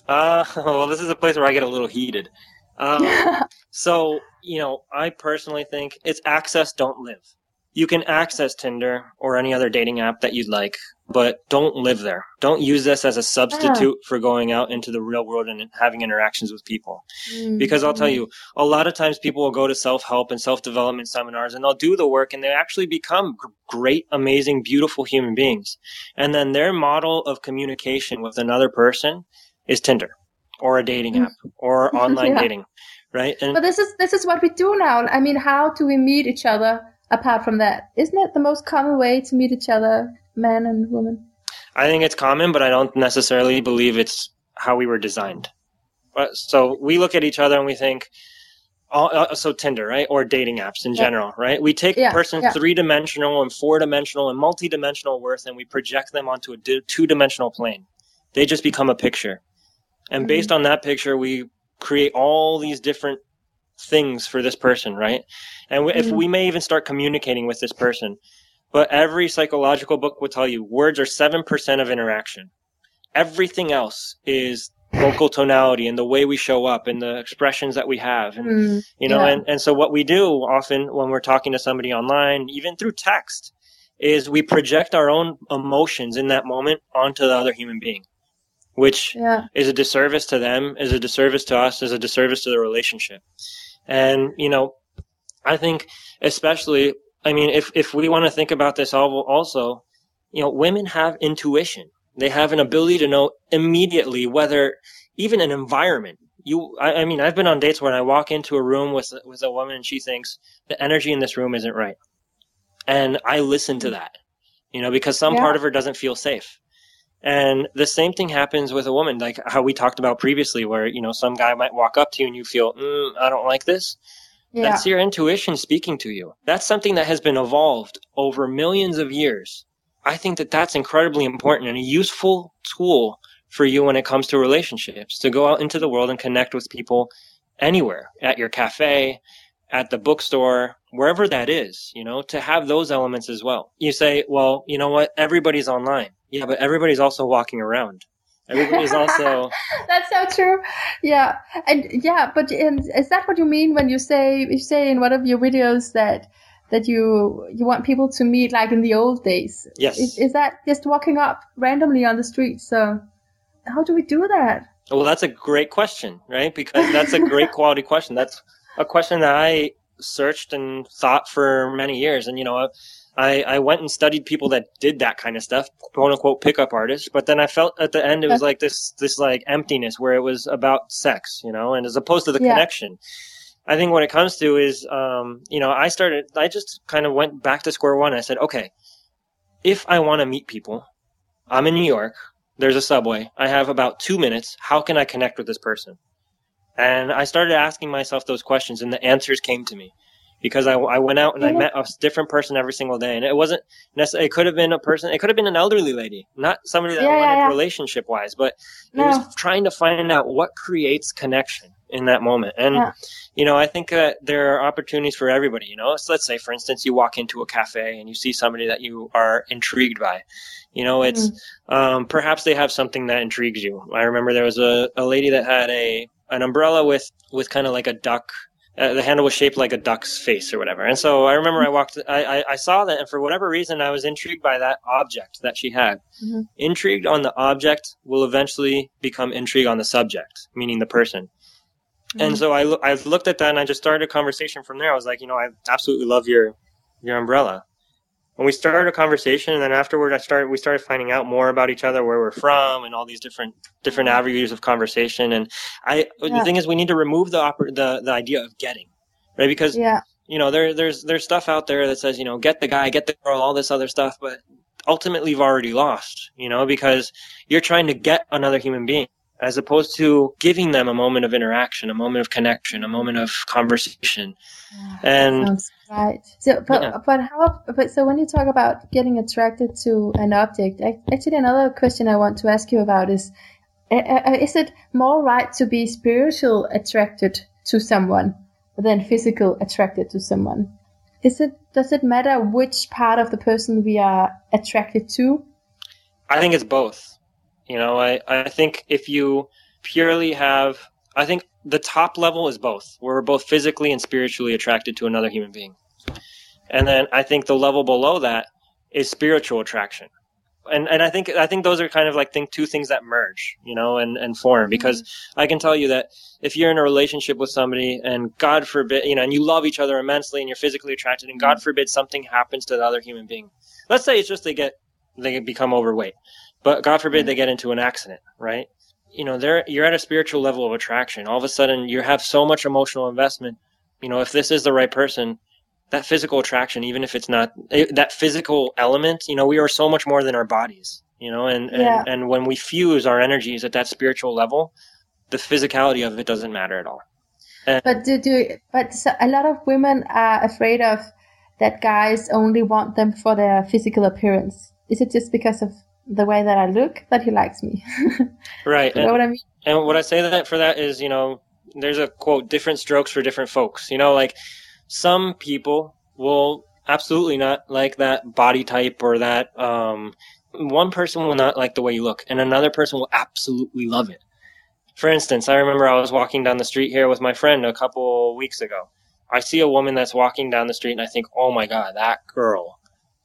Well, this is a place where I get a little heated. So, I personally think it's access, don't live. you can access Tinder or any other dating app that you'd like, but don't live there. Don't use this as a substitute for going out into the real world and having interactions with people. Because I'll tell you, a lot of times people will go to self-help and self-development seminars and they'll do the work and they actually become great, amazing, beautiful human beings. And then their model of communication with another person is Tinder or a dating app or online dating, right? But this is what we do now. I mean, how do we meet each other apart from that? Isn't it the most common way to meet each other, man and woman? I think it's common, but I don't necessarily believe it's how we were designed. So we look at each other and we think, so Tinder, right? Or dating apps in general, right? We take a person's 3-dimensional and 4-dimensional and multi-dimensional worth and we project them onto a 2-dimensional plane. They just become a picture. And based on that picture, we create all these different things for this person, right? And if we may even start communicating with this person, but every psychological book will tell you words are 7% of interaction. Everything else is vocal tonality and the way we show up and the expressions that we have. And, and so what we do often when we're talking to somebody online, even through text, is we project our own emotions in that moment onto the other human being, which is a disservice to them, is a disservice to us, is a disservice to the relationship. And, I think especially, if we want to think about this also, women have intuition. They have an ability to know immediately whether even an environment, I've been on dates where I walk into a room with a woman and she thinks the energy in this room isn't right. And I listen to that, because some part of her doesn't feel safe. And the same thing happens with a woman, like how we talked about previously, where, some guy might walk up to you and you feel, I don't like this. Yeah. That's your intuition speaking to you. That's something that has been evolved over millions of years. I think that that's incredibly important and a useful tool for you when it comes to relationships, to go out into the world and connect with people anywhere, at your cafe, at the bookstore, wherever that is, to have those elements as well. You say, well, you know what? Everybody's online. Yeah, but everybody's also walking around. Everybody's also... That's so true. Yeah. And but is that what you mean when you say in one of your videos that you want people to meet like in the old days? Yes. Is that just walking up randomly on the street? So how do we do that? Well, that's a great question, right? Because that's a great quality question. That's a question that I searched and thought for many years. And, I went and studied people that did that kind of stuff, quote unquote pickup artists. But then I felt at the end it was like this like emptiness where it was about sex, and as opposed to the connection. I think what it comes to is, I just kind of went back to square one. I said, okay, if I want to meet people, I'm in New York, there's a subway, I have about 2 minutes. How can I connect with this person? And I started asking myself those questions and the answers came to me. Because I went out and I met a different person every single day. And it wasn't necessarily, it could have been a person, it could have been an elderly lady, not somebody that wanted relationship wise, but it was trying to find out what creates connection in that moment. And, I think that there are opportunities for everybody, So let's say, for instance, you walk into a cafe and you see somebody that you are intrigued by. It's, perhaps they have something that intrigues you. I remember there was a lady that had an umbrella with kind of like a duck. The handle was shaped like a duck's face or whatever. And so I remember I saw that, and for whatever reason, I was intrigued by that object that she had. Mm-hmm. Intrigued on the object will eventually become intrigued on the subject, meaning the person. Mm-hmm. And so I looked at that and I just started a conversation from there. I was like, I absolutely love your umbrella. And we started a conversation, and then afterward we started finding out more about each other, where we're from, and all these different avenues of conversation. And the thing is, we need to remove the idea of getting, right? Because there's stuff out there that says, get the guy, get the girl, all this other stuff, but ultimately you've already lost, because you're trying to get another human being, as opposed to giving them a moment of interaction, a moment of connection, a moment of conversation. And sounds right. So, but so when you talk about getting attracted to an object, actually another question I want to ask you about is it more right to be spiritual attracted to someone than physical attracted to someone? Does it matter which part of the person we are attracted to? I think it's both. I think if you purely have, I think the top level is both. We're both physically and spiritually attracted to another human being. And then I think the level below that is spiritual attraction. And I think those are kind of like two things that merge, and form, because I can tell you that if you're in a relationship with somebody and God forbid, and you love each other immensely and you're physically attracted, and God forbid something happens to the other human being. Let's say it's just they become overweight, but God forbid they get into an accident, right? You're at a spiritual level of attraction. All of a sudden you have so much emotional investment. If this is the right person, that physical attraction, even if it's not that physical element, we are so much more than our bodies, and when we fuse our energies at that spiritual level, the physicality of it doesn't matter at all. But so a lot of women are afraid of that guys only want them for their physical appearance. Is it just because of the way that I look that he likes me? Right. You know what I mean? And what I say that for that is, there's a quote, different strokes for different folks, like some people will absolutely not like that body type or that, one person will not like the way you look and another person will absolutely love it. For instance, I remember I was walking down the street here with my friend a couple weeks ago. I see a woman that's walking down the street and I think, oh my God, that girl.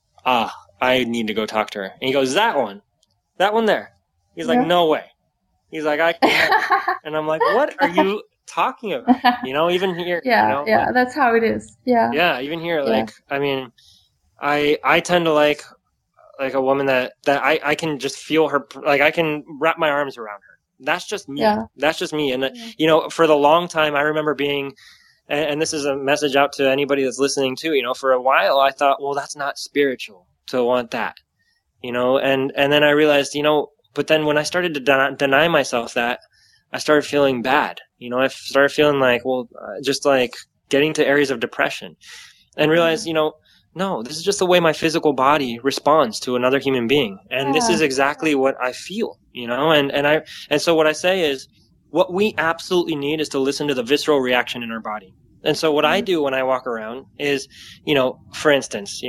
I need to go talk to her. And he goes, that one there. He's like, no way. He's like, I can't. And I'm like, what are you talking about? Even here. Yeah, that's how it is. Yeah, even here, I mean, I tend to like a woman that I can just feel her, I can wrap my arms around her. That's just me. Yeah. That's just me. And for the long time, I remember being, and this is a message out to anybody that's listening too, for a while I thought, well, that's not spiritual to want that, and then I realized, but then when I started to deny myself that, I started feeling bad. I started feeling like, well, just like getting to areas of depression and realized, no, this is just the way my physical body responds to another human being. And this is exactly what I feel, and so what I say is what we absolutely need is to listen to the visceral reaction in our body. And so what I do when I walk around is, for instance,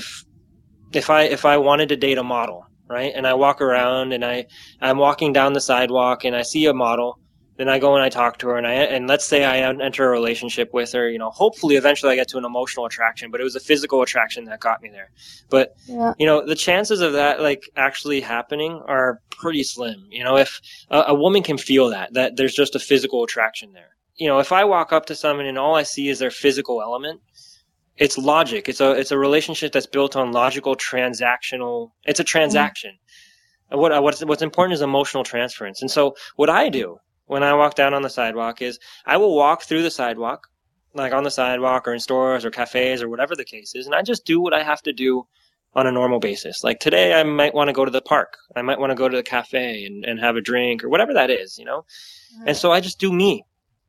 if I wanted to date a model, right? And I walk around and I'm walking down the sidewalk and I see a model, then I go and I talk to her and let's say I enter a relationship with her, hopefully eventually I get to an emotional attraction, but it was a physical attraction that got me there. But, the chances of that actually happening are pretty slim. If a woman can feel that there's just a physical attraction there. If I walk up to someone and all I see is their physical element, it's logic. It's a relationship that's built on logical transactional. It's a transaction. And what's important is emotional transference. And so what I do when I walk down on the sidewalk is I will walk through the sidewalk, like on the sidewalk or in stores or cafes or whatever the case is, and I just do what I have to do on a normal basis. Like today, I might want to go to the park. I might want to go to the cafe and have a drink or whatever that is, And so I just do me,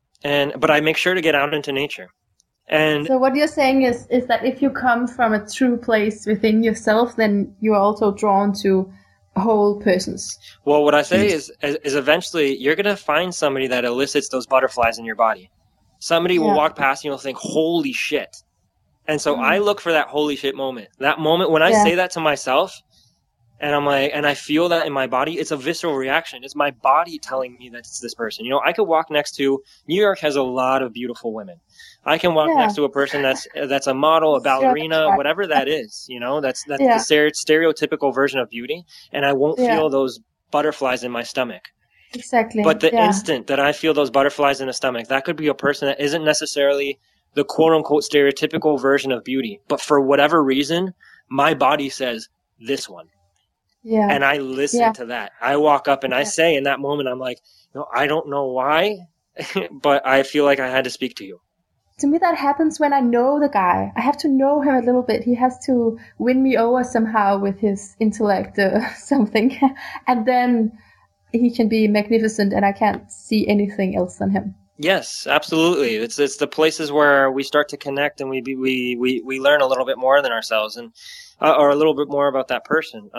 but I make sure to get out into nature. And so what you're saying is that if you come from a true place within yourself, then you're also drawn to whole persons. Well, what I say is eventually you're going to find somebody that elicits those butterflies in your body. Somebody will walk past and you'll think, holy shit. And so I look for that holy shit moment. That moment when I say that to myself and I'm like, and I feel that in my body, it's a visceral reaction. It's my body telling me that it's this person. I could walk next to, New York has a lot of beautiful women. I can walk next to a person that's a model, a ballerina, whatever that is, that's the stereotypical version of beauty. And I won't feel those butterflies in my stomach. Exactly. But the instant that I feel those butterflies in the stomach, that could be a person that isn't necessarily the quote unquote stereotypical version of beauty. But for whatever reason, my body says this one. Yeah. And I listen to that. I walk up and I say in that moment, I'm like, I don't know why, but I feel like I had to speak to you. To me, that happens when I know the guy. I have to know him a little bit. He has to win me over somehow with his intellect or something. And then he can be magnificent and I can't see anything else than him. Yes, absolutely. It's the places where we start to connect and we learn a little bit more than ourselves and or a little bit more about that person.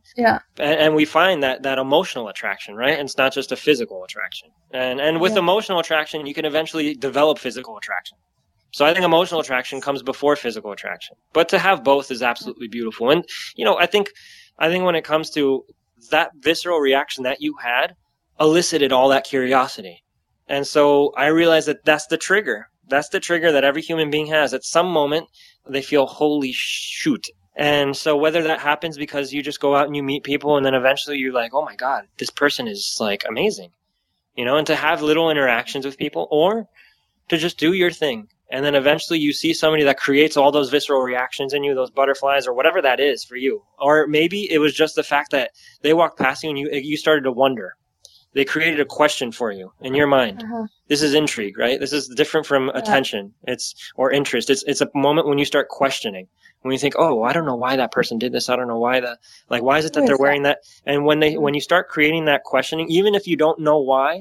And we find that emotional attraction, right? And it's not just a physical attraction. And with emotional attraction, you can eventually develop physical attraction. So I think emotional attraction comes before physical attraction. But to have both is absolutely beautiful. And I think when it comes to that visceral reaction that you had elicited all that curiosity. And so I realized that that's the trigger. That's the trigger that every human being has. At some moment, they feel, holy shoot. And so whether that happens because you just go out and you meet people and then eventually you're like, oh my God, this person is like amazing, and to have little interactions with people, or to just do your thing. And then eventually you see somebody that creates all those visceral reactions in you, those butterflies or whatever that is for you. Or maybe it was just the fact that they walked past you and you started to wonder. They created a question for you in your mind. This is intrigue, right? This is different from attention. Or interest. It's a moment when you start questioning. When you think, oh, I don't know why that person did this. I don't know why why is it that they're wearing that? And when you start creating that questioning, even if you don't know why,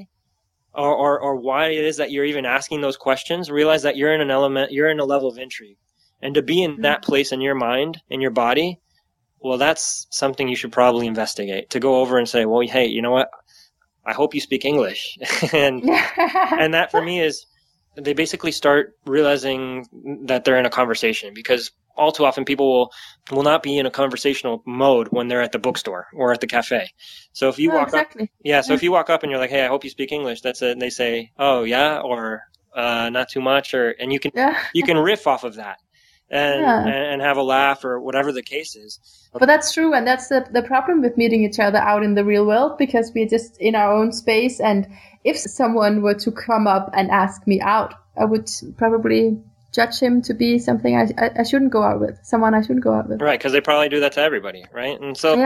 or why it is that you're even asking those questions, realize that you're in a level of intrigue. And to be in that place in your mind, in your body, well, that's something you should probably investigate. To go over and say, well, hey, you know what? I hope you speak English. and that for me is, they basically start realizing that they're in a conversation, because all too often people will not be in a conversational mode when they're at the bookstore or at the cafe. So if you walk up, if you walk up and you're like, hey, I hope you speak English, that's it. And they say, oh yeah, or not too much, and you can riff off of that and have a laugh or whatever the case is. But that's true, and that's the problem with meeting each other out in the real world, because we're just in our own space. And if someone were to come up and ask me out, I would probably judge him to be something I shouldn't go out with, someone I shouldn't go out with. Right, because they probably do that to everybody, right? And so,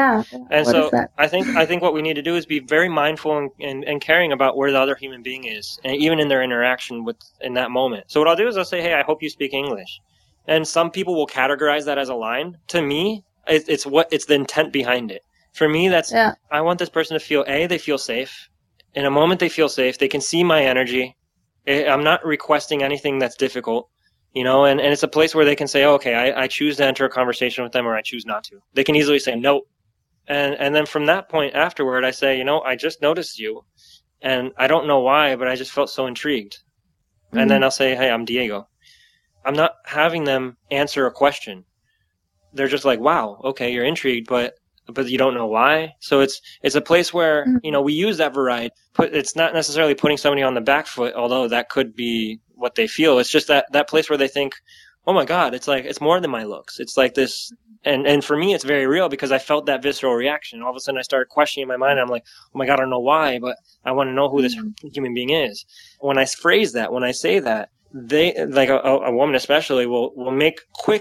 I think what we need to do is be very mindful and caring about where the other human being is, and even in their interaction in that moment. So what I'll do is I'll say, hey, I hope you speak English. And some people will categorize that as a line. To me, it's the intent behind it. For me, I want this person to feel, they feel safe. In a moment they feel safe, they can see my energy. I'm not requesting anything that's difficult, and it's a place where they can say, okay, I choose to enter a conversation with them, or I choose not to. They can easily say no. And then from that point afterward, I say, I just noticed you, and I don't know why, but I just felt so intrigued. Mm-hmm. And then I'll say, hey, I'm Diego. I'm not having them answer a question. They're just like, wow, okay, you're intrigued, but you don't know why. So it's a place where, we use that variety. It's not necessarily putting somebody on the back foot, although that could be what they feel. It's just that place where they think, oh my God, it's more than my looks. It's like this. And for me, it's very real, because I felt that visceral reaction. All of a sudden I started questioning my mind. I'm like, oh my God, I don't know why, but I want to know who this human being is. When I phrase that, when I say that, they, like a woman especially, will make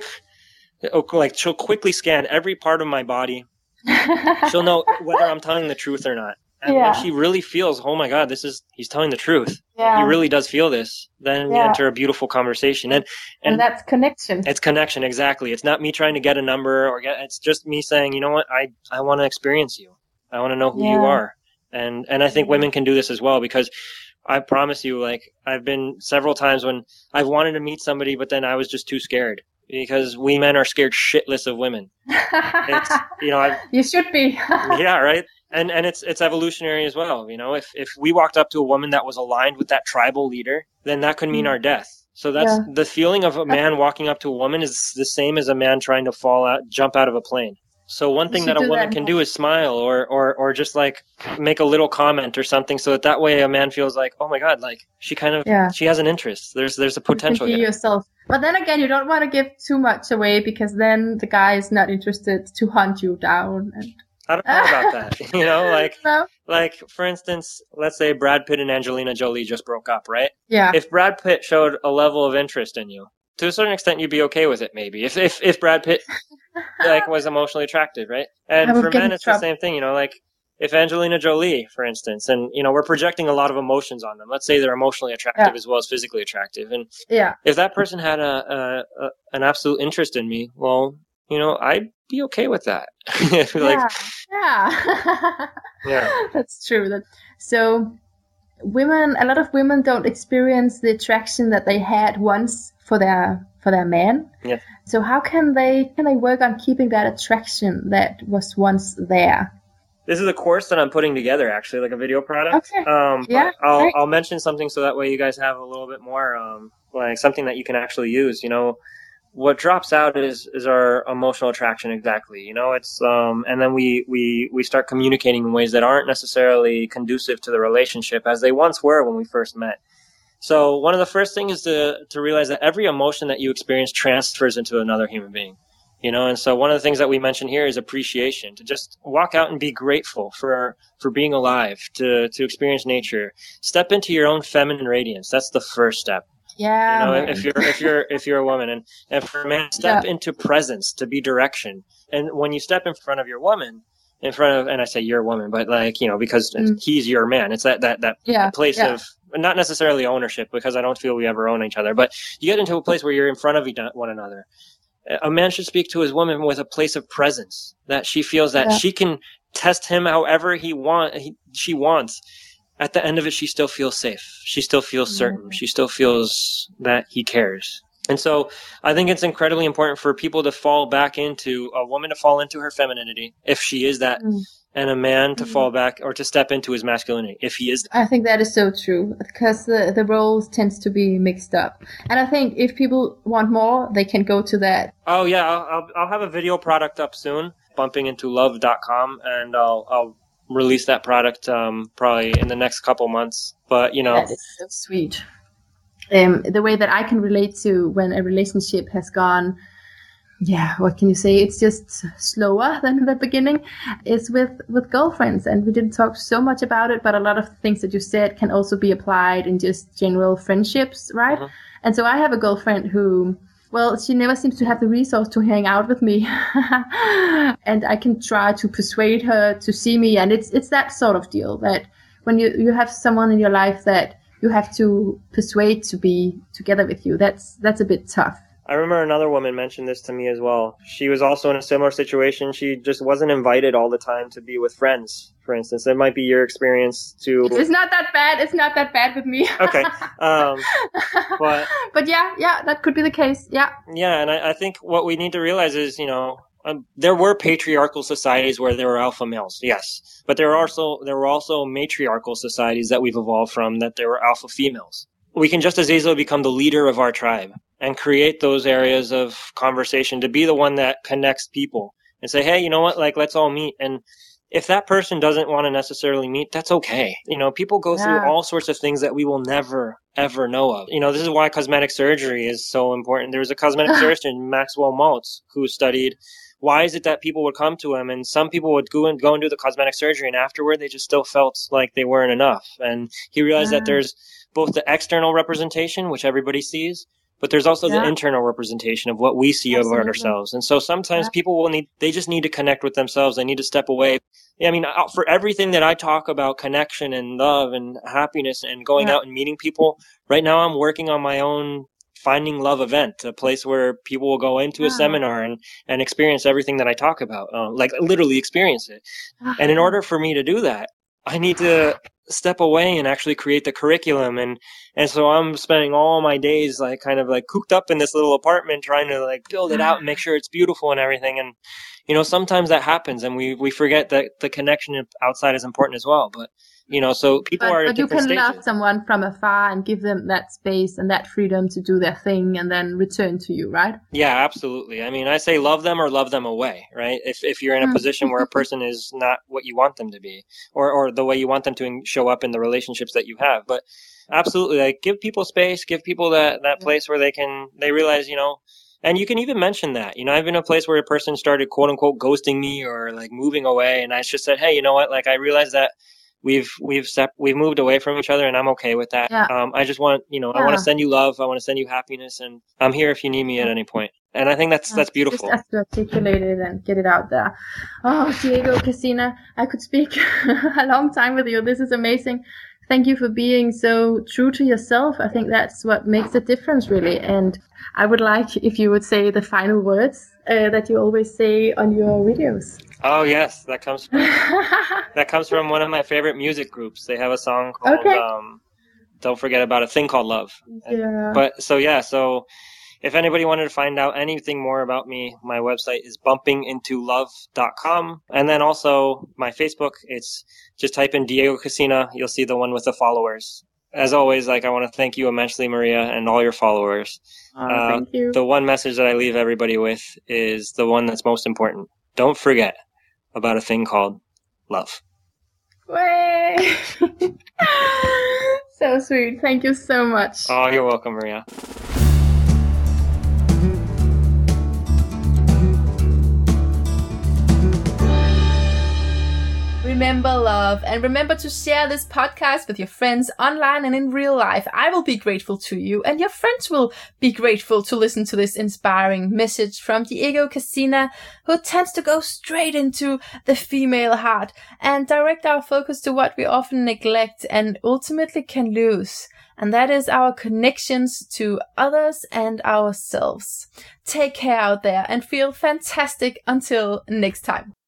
she'll quickly scan every part of my body. She'll know whether I'm telling the truth or not. And when she really feels, oh my God, he's telling the truth. Yeah. He really does feel this. Then we enter a beautiful conversation. And that's connection. It's connection, exactly. It's not me trying to get a number it's just me saying, you know what, I want to experience you. I want to know who you are. And I think women can do this as well, because I promise you, like, I've been several times when I've wanted to meet somebody, but then I was just too scared, because we men are scared shitless of women. You should be. Yeah, right. And it's evolutionary as well. If we walked up to a woman that was aligned with that tribal leader, then that could mean our death. So that's the feeling of a man walking up to a woman is the same as a man trying to jump out of a plane. So one thing that a woman can do is smile or just like make a little comment or something, so that way a man feels like, oh my God, like she has an interest. There's a potential here. Yourself. But then again, you don't want to give too much away, because then the guy is not interested to hunt you down. And I don't know about that. No? Like for instance, let's say Brad Pitt and Angelina Jolie just broke up, right? Yeah. If Brad Pitt showed a level of interest in you, to a certain extent, you'd be okay with it, maybe. If Brad Pitt was emotionally attractive, right? And for men, it's the same thing. Like if Angelina Jolie, for instance, and we're projecting a lot of emotions on them. Let's say they're emotionally attractive as well as physically attractive, and if that person had an absolute interest in me, well, I'd be okay with that. That's true. So a lot of women don't experience the attraction that they had once for their man. Yeah. So how can they work on keeping that attraction that was once there? This is a course that I'm putting together, actually, like a video product. Okay. I'll mention something so that way you guys have a little bit more, like something that you can actually use. What drops out is our emotional attraction, exactly. It's and then we start communicating in ways that aren't necessarily conducive to the relationship as they once were when we first met. So one of the first things is to realize that every emotion that you experience transfers into another human being. And so one of the things that we mentioned here is appreciation, to just walk out and be grateful for being alive, to experience nature. Step into your own feminine radiance. That's the first step. Yeah. If you're a woman, and for a man, step into presence, to be direction. And when you step in front of your woman, and I say you're a woman, but because he's your man, it's that place of not necessarily ownership, because I don't feel we ever own each other, but you get into a place where you're in front of one another. A man should speak to his woman with a place of presence, that she feels that she can test him however she wants. At the end of it, she still feels safe. She still feels certain. She still feels that he cares. And so I think it's incredibly important for people to fall back into, a woman to fall into her femininity, if she is that, and a man to fall back or to step into his masculinity, if he is that. I think that is so true, because the roles tends to be mixed up. And I think if people want more, they can go to that. Oh yeah, I'll have a video product up soon, bumpingintolove.com, and I'll release that product probably in the next couple months. But that is so sweet. The way that I can relate to when a relationship has gone, what can you say? It's just slower than the beginning. Is with girlfriends, and we didn't talk so much about it, but a lot of things that you said can also be applied in just general friendships, right? Mm-hmm. And so I have a girlfriend who, she never seems to have the resource to hang out with me, and I can try to persuade her to see me, and it's that sort of deal, that when you have someone in your life that you have to persuade to be together with you, that's a bit tough. I remember another woman mentioned this to me as well. She was also in a similar situation. She just wasn't invited all the time to be with friends, for instance. It might be your experience too. It's not that bad. It's not that bad with me. Okay. But yeah, that could be the case. Yeah. Yeah, and I think what we need to realize is, there were patriarchal societies where there were alpha males, yes. But there were also matriarchal societies that we've evolved from, that there were alpha females. We can just as easily become the leader of our tribe and create those areas of conversation, to be the one that connects people and say, hey, you know what, let's all meet. And if that person doesn't want to necessarily meet, that's okay. People go through all sorts of things that we will never, ever know of. This is why cosmetic surgery is so important. There was a cosmetic surgeon, Maxwell Maltz, who studied why is it that people would come to him, and some people would go and do the cosmetic surgery, and afterward they just still felt like they weren't enough. And he realized that there's both the external representation, which everybody sees, but there's also the internal representation of what we see about ourselves. And so sometimes people they just need to connect with themselves. They need to step away. For everything that I talk about, connection and love and happiness and going out and meeting people, right now I'm working on my own Finding Love event, a place where people will go into a seminar and experience everything that I talk about, literally experience it. And in order for me to do that, I need to step away and actually create the curriculum. And so I'm spending all my days cooped up in this little apartment trying to build it out and make sure it's beautiful and everything. And, sometimes that happens and we forget that the connection outside is important as well. But, so people are at different stages. But you can love someone from afar and give them that space and that freedom to do their thing and then return to you, right? Yeah, absolutely. I say love them or love them away, right? If you're in a position where a person is not what you want them to be, or the way you want them to show up in the relationships that you have. But absolutely, give people space, give people that place where they realize, and you can even mention that, I've been in a place where a person started quote unquote ghosting me or moving away. And I just said, hey, you know what? I realize that we've moved away from each other, and I'm okay with that. Yeah. I just want, I want to send you love. I want to send you happiness, and I'm here if you need me at any point. And I think that's beautiful. Just have to articulate it and get it out there. Oh, Diego Casina, I could speak a long time with you. This is amazing. Thank you for being so true to yourself. I think that's what makes the difference, really. And I would like if you would say the final words that you always say on your videos. Oh yes, that comes from one of my favorite music groups. They have a song called "Don't Forget About a Thing Called Love." Yeah. So if anybody wanted to find out anything more about me, my website is bumpingintolove.com, and then also my Facebook. It's just type in Diego Casina. You'll see the one with the followers. As always, I want to thank you immensely, Maria, and all your followers. Thank you. The one message that I leave everybody with is the one that's most important. Don't forget about a thing called love. Way. So so sweet. Thank you so much. Oh, you're welcome, Maria. Remember, love, and remember to share this podcast with your friends online and in real life. I will be grateful to you, and your friends will be grateful to listen to this inspiring message from Diego Casina, who tends to go straight into the female heart and direct our focus to what we often neglect and ultimately can lose. And that is our connections to others and ourselves. Take care out there and feel fantastic until next time.